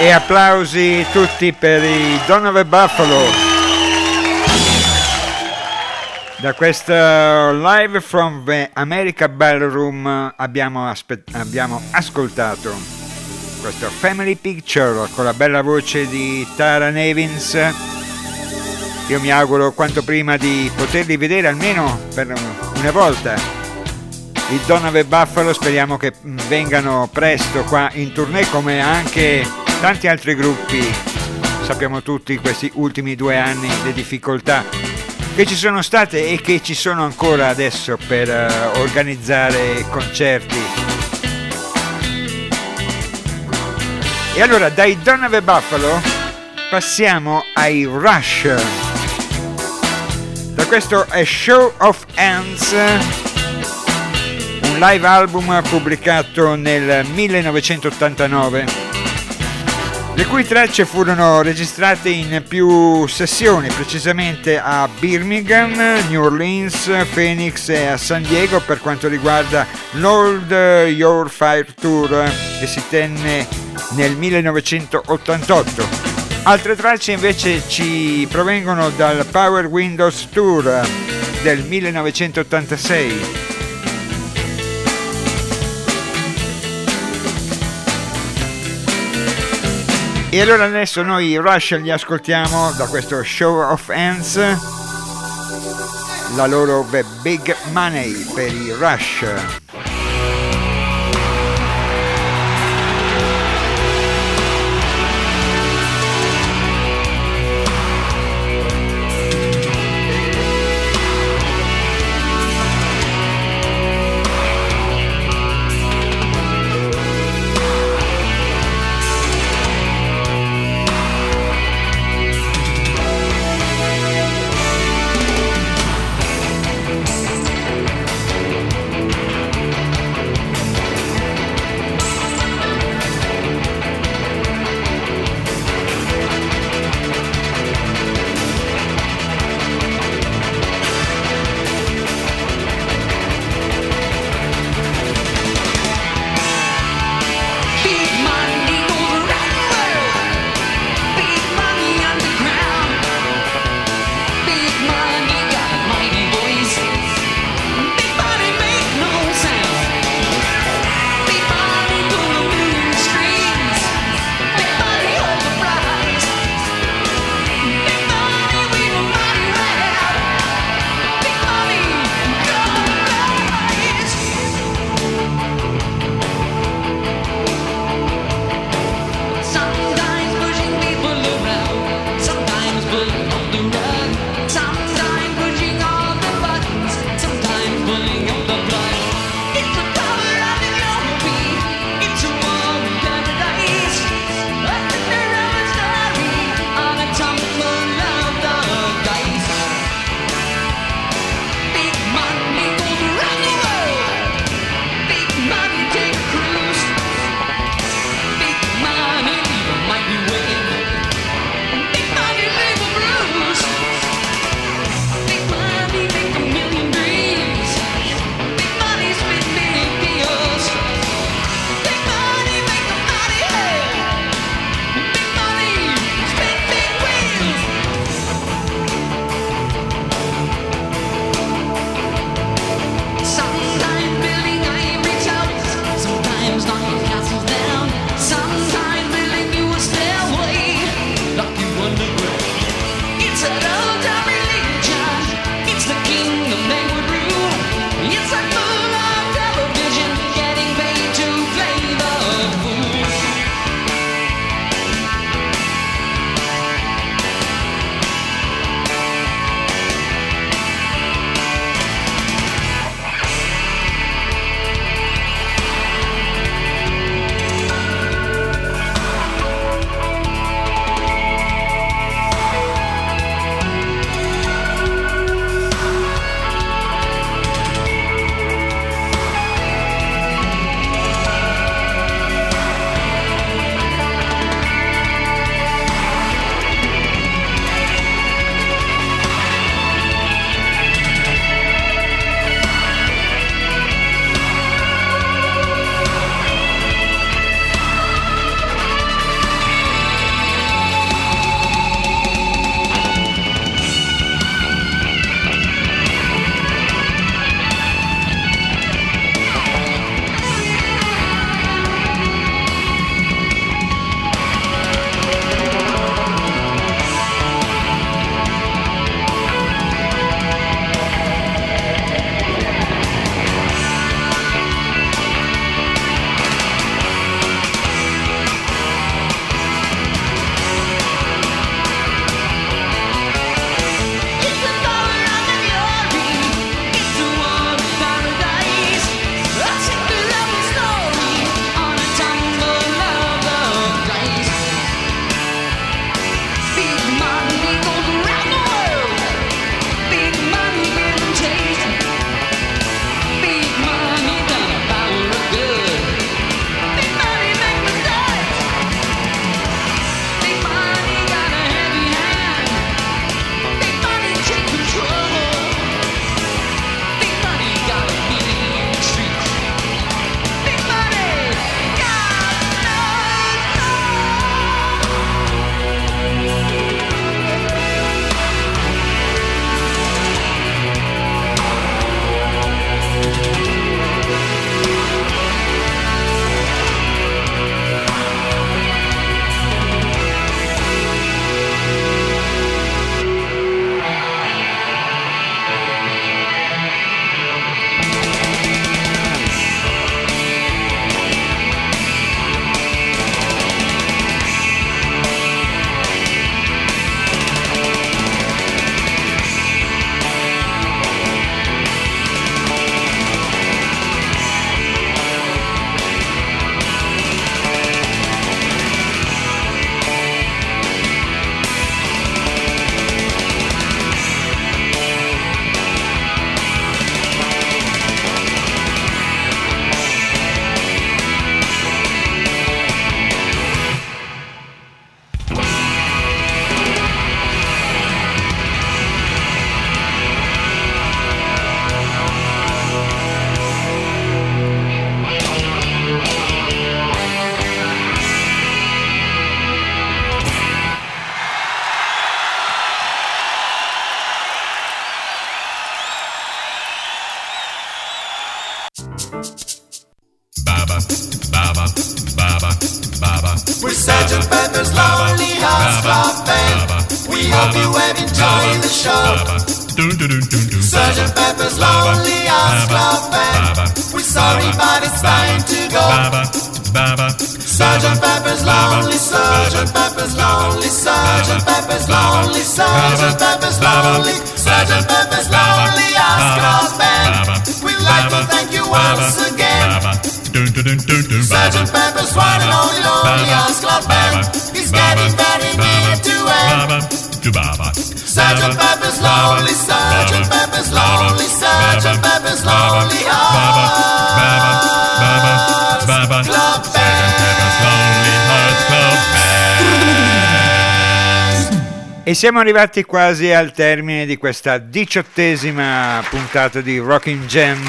E applausi tutti per i Donovan Buffalo. Da questo Live from the America Ballroom abbiamo, aspe- abbiamo ascoltato questo Family Picture con la bella voce di Tara Nevins. Io mi auguro quanto prima di poterli vedere almeno per una volta. I Donovan Buffalo, speriamo che vengano presto qua in tournée, come anche tanti altri gruppi. Sappiamo tutti questi ultimi due anni le difficoltà che ci sono state e che ci sono ancora adesso per uh, organizzare concerti. E allora dai Donovan Buffalo passiamo ai Rush. Da questo è Show of Hands, un live album pubblicato nel millenovecentottantanove, le cui tracce furono registrate in più sessioni, precisamente a Birmingham, New Orleans, Phoenix e a San Diego per quanto riguarda l'Old Your Fire Tour, che si tenne nel millenovecentottantotto. Altre tracce invece ci provengono dal Power Windows Tour del millenovecentottantasei. E allora adesso noi Rush li ascoltiamo da questo Show of Hands, la loro The Big Money per i Rush. Pepper's Lonely Hearts Club Band. We hope you have enjoyed the show. Sergeant Pepper's Lonely Hearts Club Band. We're sorry, but it's time to go. Sergeant Pepper's Lonely, Sergeant Pepper's Lonely, Sergeant Pepper's Lonely, Sergeant Pepper's Lonely, Sergeant Pepper's Lonely Hearts Club Band. We'd like to thank you once again. Sergeant Pepper's one and only Lonely Hearts Club Band. He's getting very near to end. Sergeant Pepper's Lonely, Sergeant Pepper's Lonely, Sergeant Pepper's Lonely Hearts Club Band. E siamo arrivati quasi al termine di questa diciottesima puntata di Rockin' Jam,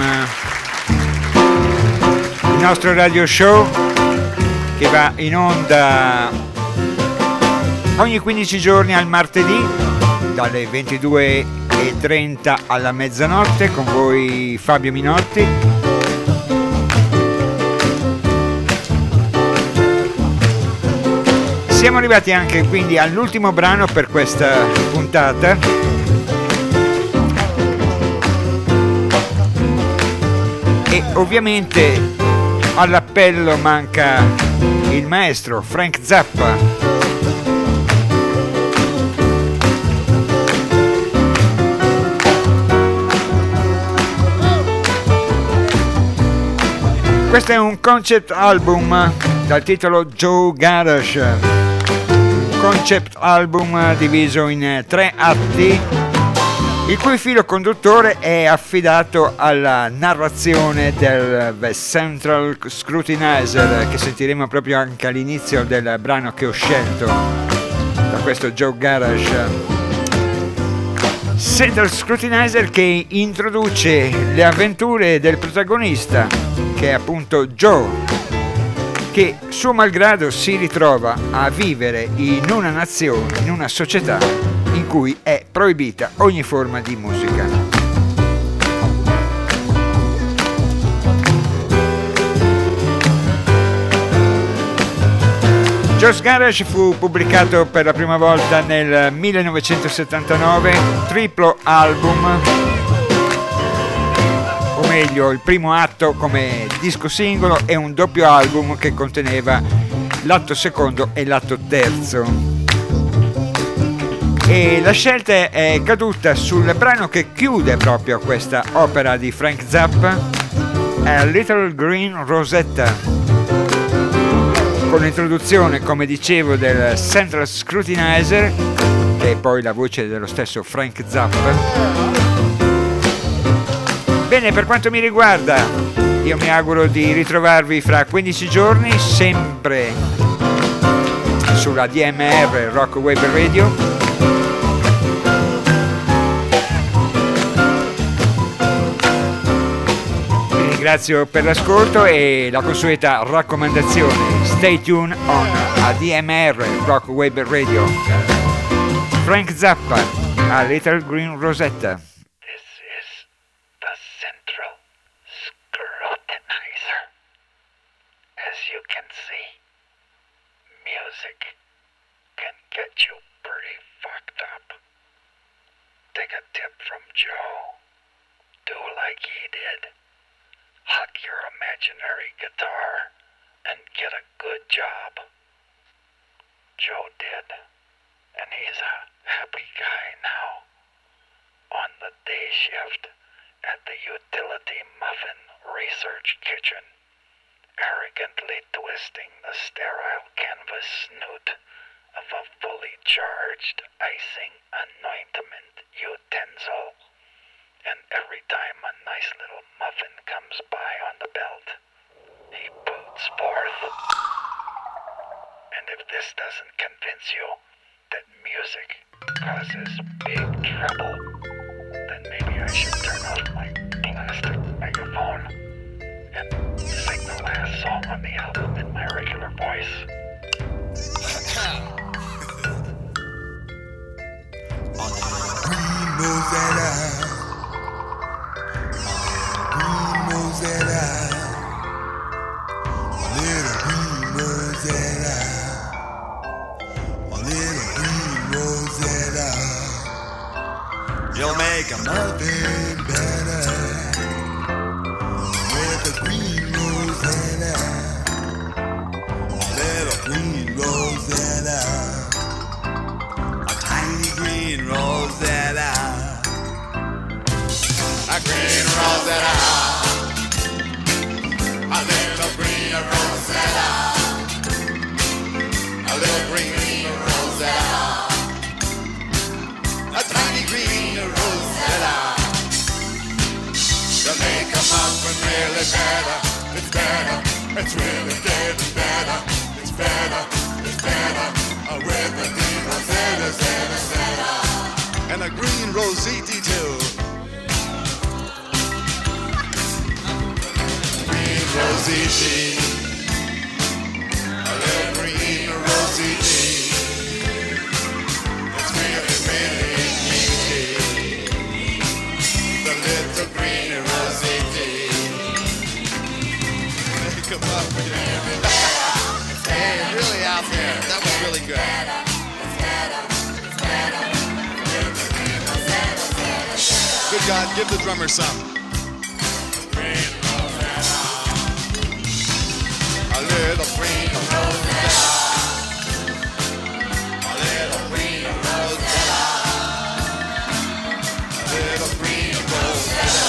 il nostro radio show che va in onda ogni quindici giorni al martedì dalle ventidue e trenta alla mezzanotte, con voi Fabio Minotti. Siamo arrivati anche quindi all'ultimo brano per questa puntata. E ovviamente all'appello manca il maestro Frank Zappa. Questo è un concept album dal titolo Joe Garage. Concept album diviso in tre atti, il cui filo conduttore è affidato alla narrazione del The Central Scrutinizer, che sentiremo proprio anche all'inizio del brano che ho scelto da questo Joe Garage. Central Scrutinizer che introduce le avventure del protagonista, che è appunto Joe, che suo malgrado si ritrova a vivere in una nazione, in una società in cui è proibita ogni forma di musica. Joe's Garage fu pubblicato per la prima volta nel millenovecentosettantanove, triplo album, o meglio il primo atto come disco singolo e un doppio album che conteneva l'atto secondo e l'atto terzo. E la scelta è caduta sul brano che chiude proprio questa opera di Frank Zappa, A Little Green Rosetta, con l'introduzione, come dicevo, del Central Scrutinizer, che è poi la voce dello stesso Frank Zappa. Bene, per quanto mi riguarda, io mi auguro di ritrovarvi fra quindici giorni, sempre sulla D M R Rock Web Radio. Vi ringrazio per l'ascolto e la consueta raccomandazione: stay tuned on A D M R Rock Web Radio. Frank Zappa, A Little Green Rosetta. You can see, music can get you pretty fucked up. Take a tip from Joe. Do like he did. Hug your imaginary guitar and get a good job. Joe did, and he's a happy guy now. On the day shift at the Utility Muffin Research Kitchen, arrogantly twisting the sterile canvas snoot of a fully charged icing anointment utensil. And every time a nice little muffin comes by on the belt, he boots forth. And if this doesn't convince you that music causes big trouble, then maybe I should turn off my plastic megaphone and sing the last song on the album in my regular voice. Green Rosetta, Green Rosetta, little Green Rosetta, green Rosetta. A little green Rosetta. A little green Rosetta. A tiny green Rosetta. To make a muffin really better. It's better. It's really getting better. It's better. It's better. Uh, with the green Rosetta, Rosetta, Rosetta. And a green Rositi too. Green Rositi. A little green Rositi. It's really, really easy. The little green Rositi. Come up with it. Hey, really out there. That was really good. Good God, give the drummer some. A little green Rosetta. A little green Rosetta. A little green Rosetta.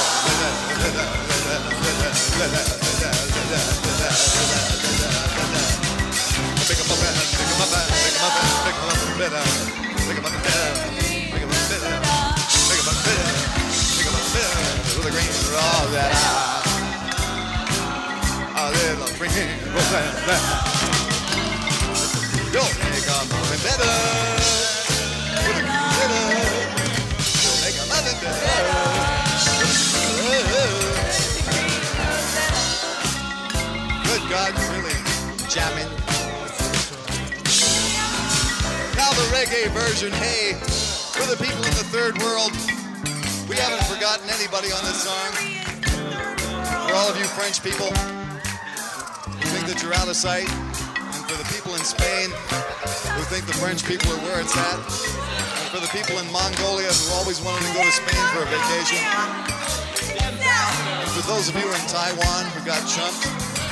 Pick 'em up and pick 'em up and pick 'em up and pick 'em up and better. Pick 'em up and better. Pick 'em up and better. Pick 'em up and better. Pick 'em up and better. With a green Rosetta. A little green Rosetta. You'll make 'em up and better. With a green Rosetta. You'll make 'em up and better. Good God, really jamming. Now the reggae version. Hey, for the people in the third world, we haven't forgotten anybody on this song. For all of you French people who think that you're out of sight, and for the people in Spain who think the French people are where it's at, and for the people in Mongolia who always wanted to go to Spain for a vacation, and for those of you in Taiwan who got chumped,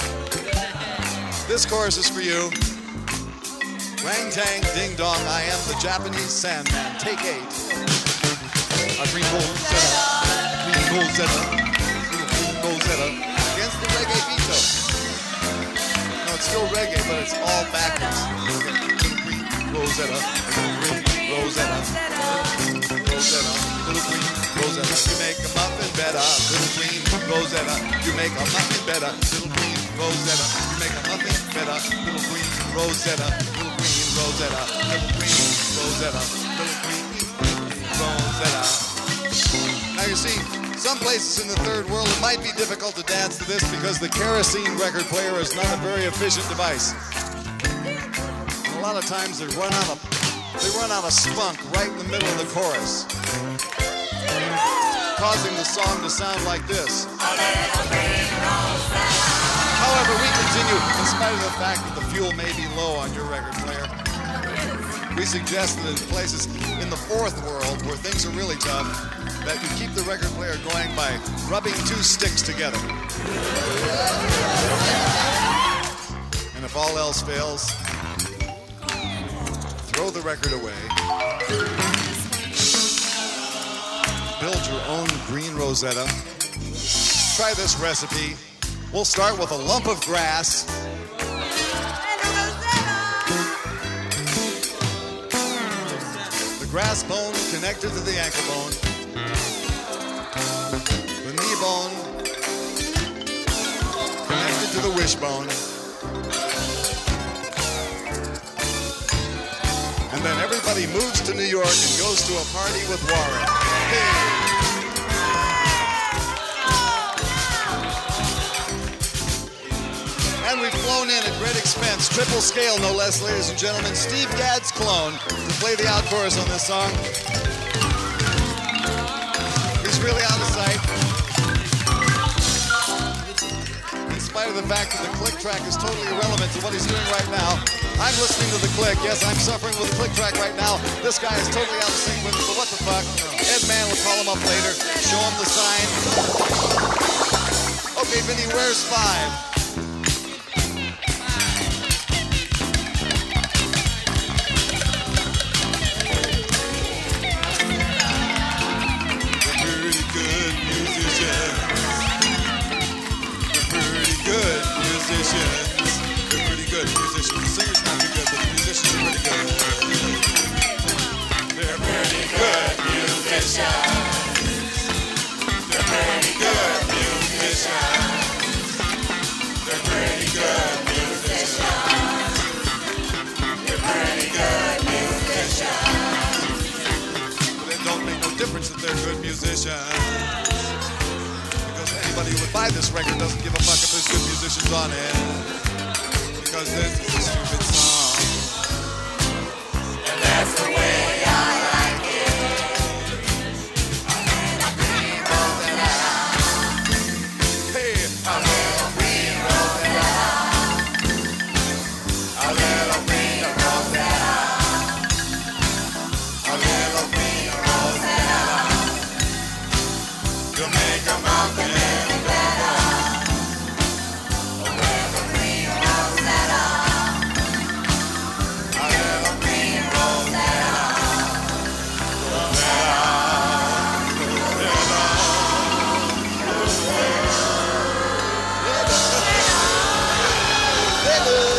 this chorus is for you. Rang tang ding dong, I am the Japanese Sandman. Take eight. A green Rosetta, green Rosetta, green Rosetta. Against the reggae beat though. No, it's still reggae, but it's all backwards. Green Rosetta, green Rosetta, Rosetta, little green Rosetta. You make a muffin better, little green Rosetta. You make a muffin better, little green Rosetta. You make a muffin better, little green Rosetta. Little green Rosetta, little green Rosetta, little green Rosetta. Now you see, some places in the third world it might be difficult to dance to this because the kerosene record player is not a very efficient device. And a lot of times they run out of they run out of spunk right in the middle of the chorus, causing the song to sound like this. However, we continue, in spite of the fact that the fuel may be low on your record player. We suggest that in places in the fourth world where things are really tough, that you keep the record player going by rubbing two sticks together. And if all else fails, throw the record away. Build your own green Rosetta. Try this recipe. We'll start with a lump of grass. The grass bone connected to the ankle bone. The knee bone connected to the wishbone. And then everybody moves to New York and goes to a party with Warren. Hey. And we've flown in at great expense, triple scale no less, ladies and gentlemen, Steve Gadd's clone to play the out chorus on this song. He's really out of sight. In spite of the fact that the click track is totally irrelevant to what he's doing right now, I'm listening to the click. Yes, I'm suffering with the click track right now. This guy is totally out of sync with it, but what the fuck? Ed Mann will call him up later, show him the sign. Okay, Vinny, where's five? musicians, they're pretty good musicians. The singers not too good, but the musicians are pretty good. They're pretty good musicians. They're pretty good musicians. They're pretty good musicians. They're pretty good musicians. But it don't make no difference that they're good musicians. Anybody who would buy this record doesn't give a fuck if there's good musicians on it, because this is a stupid song. And that's the way I like it. A little green rosetta. Hey, a little green rosetta. A little green rosetta. A little green rosetta. You make a mountain. Little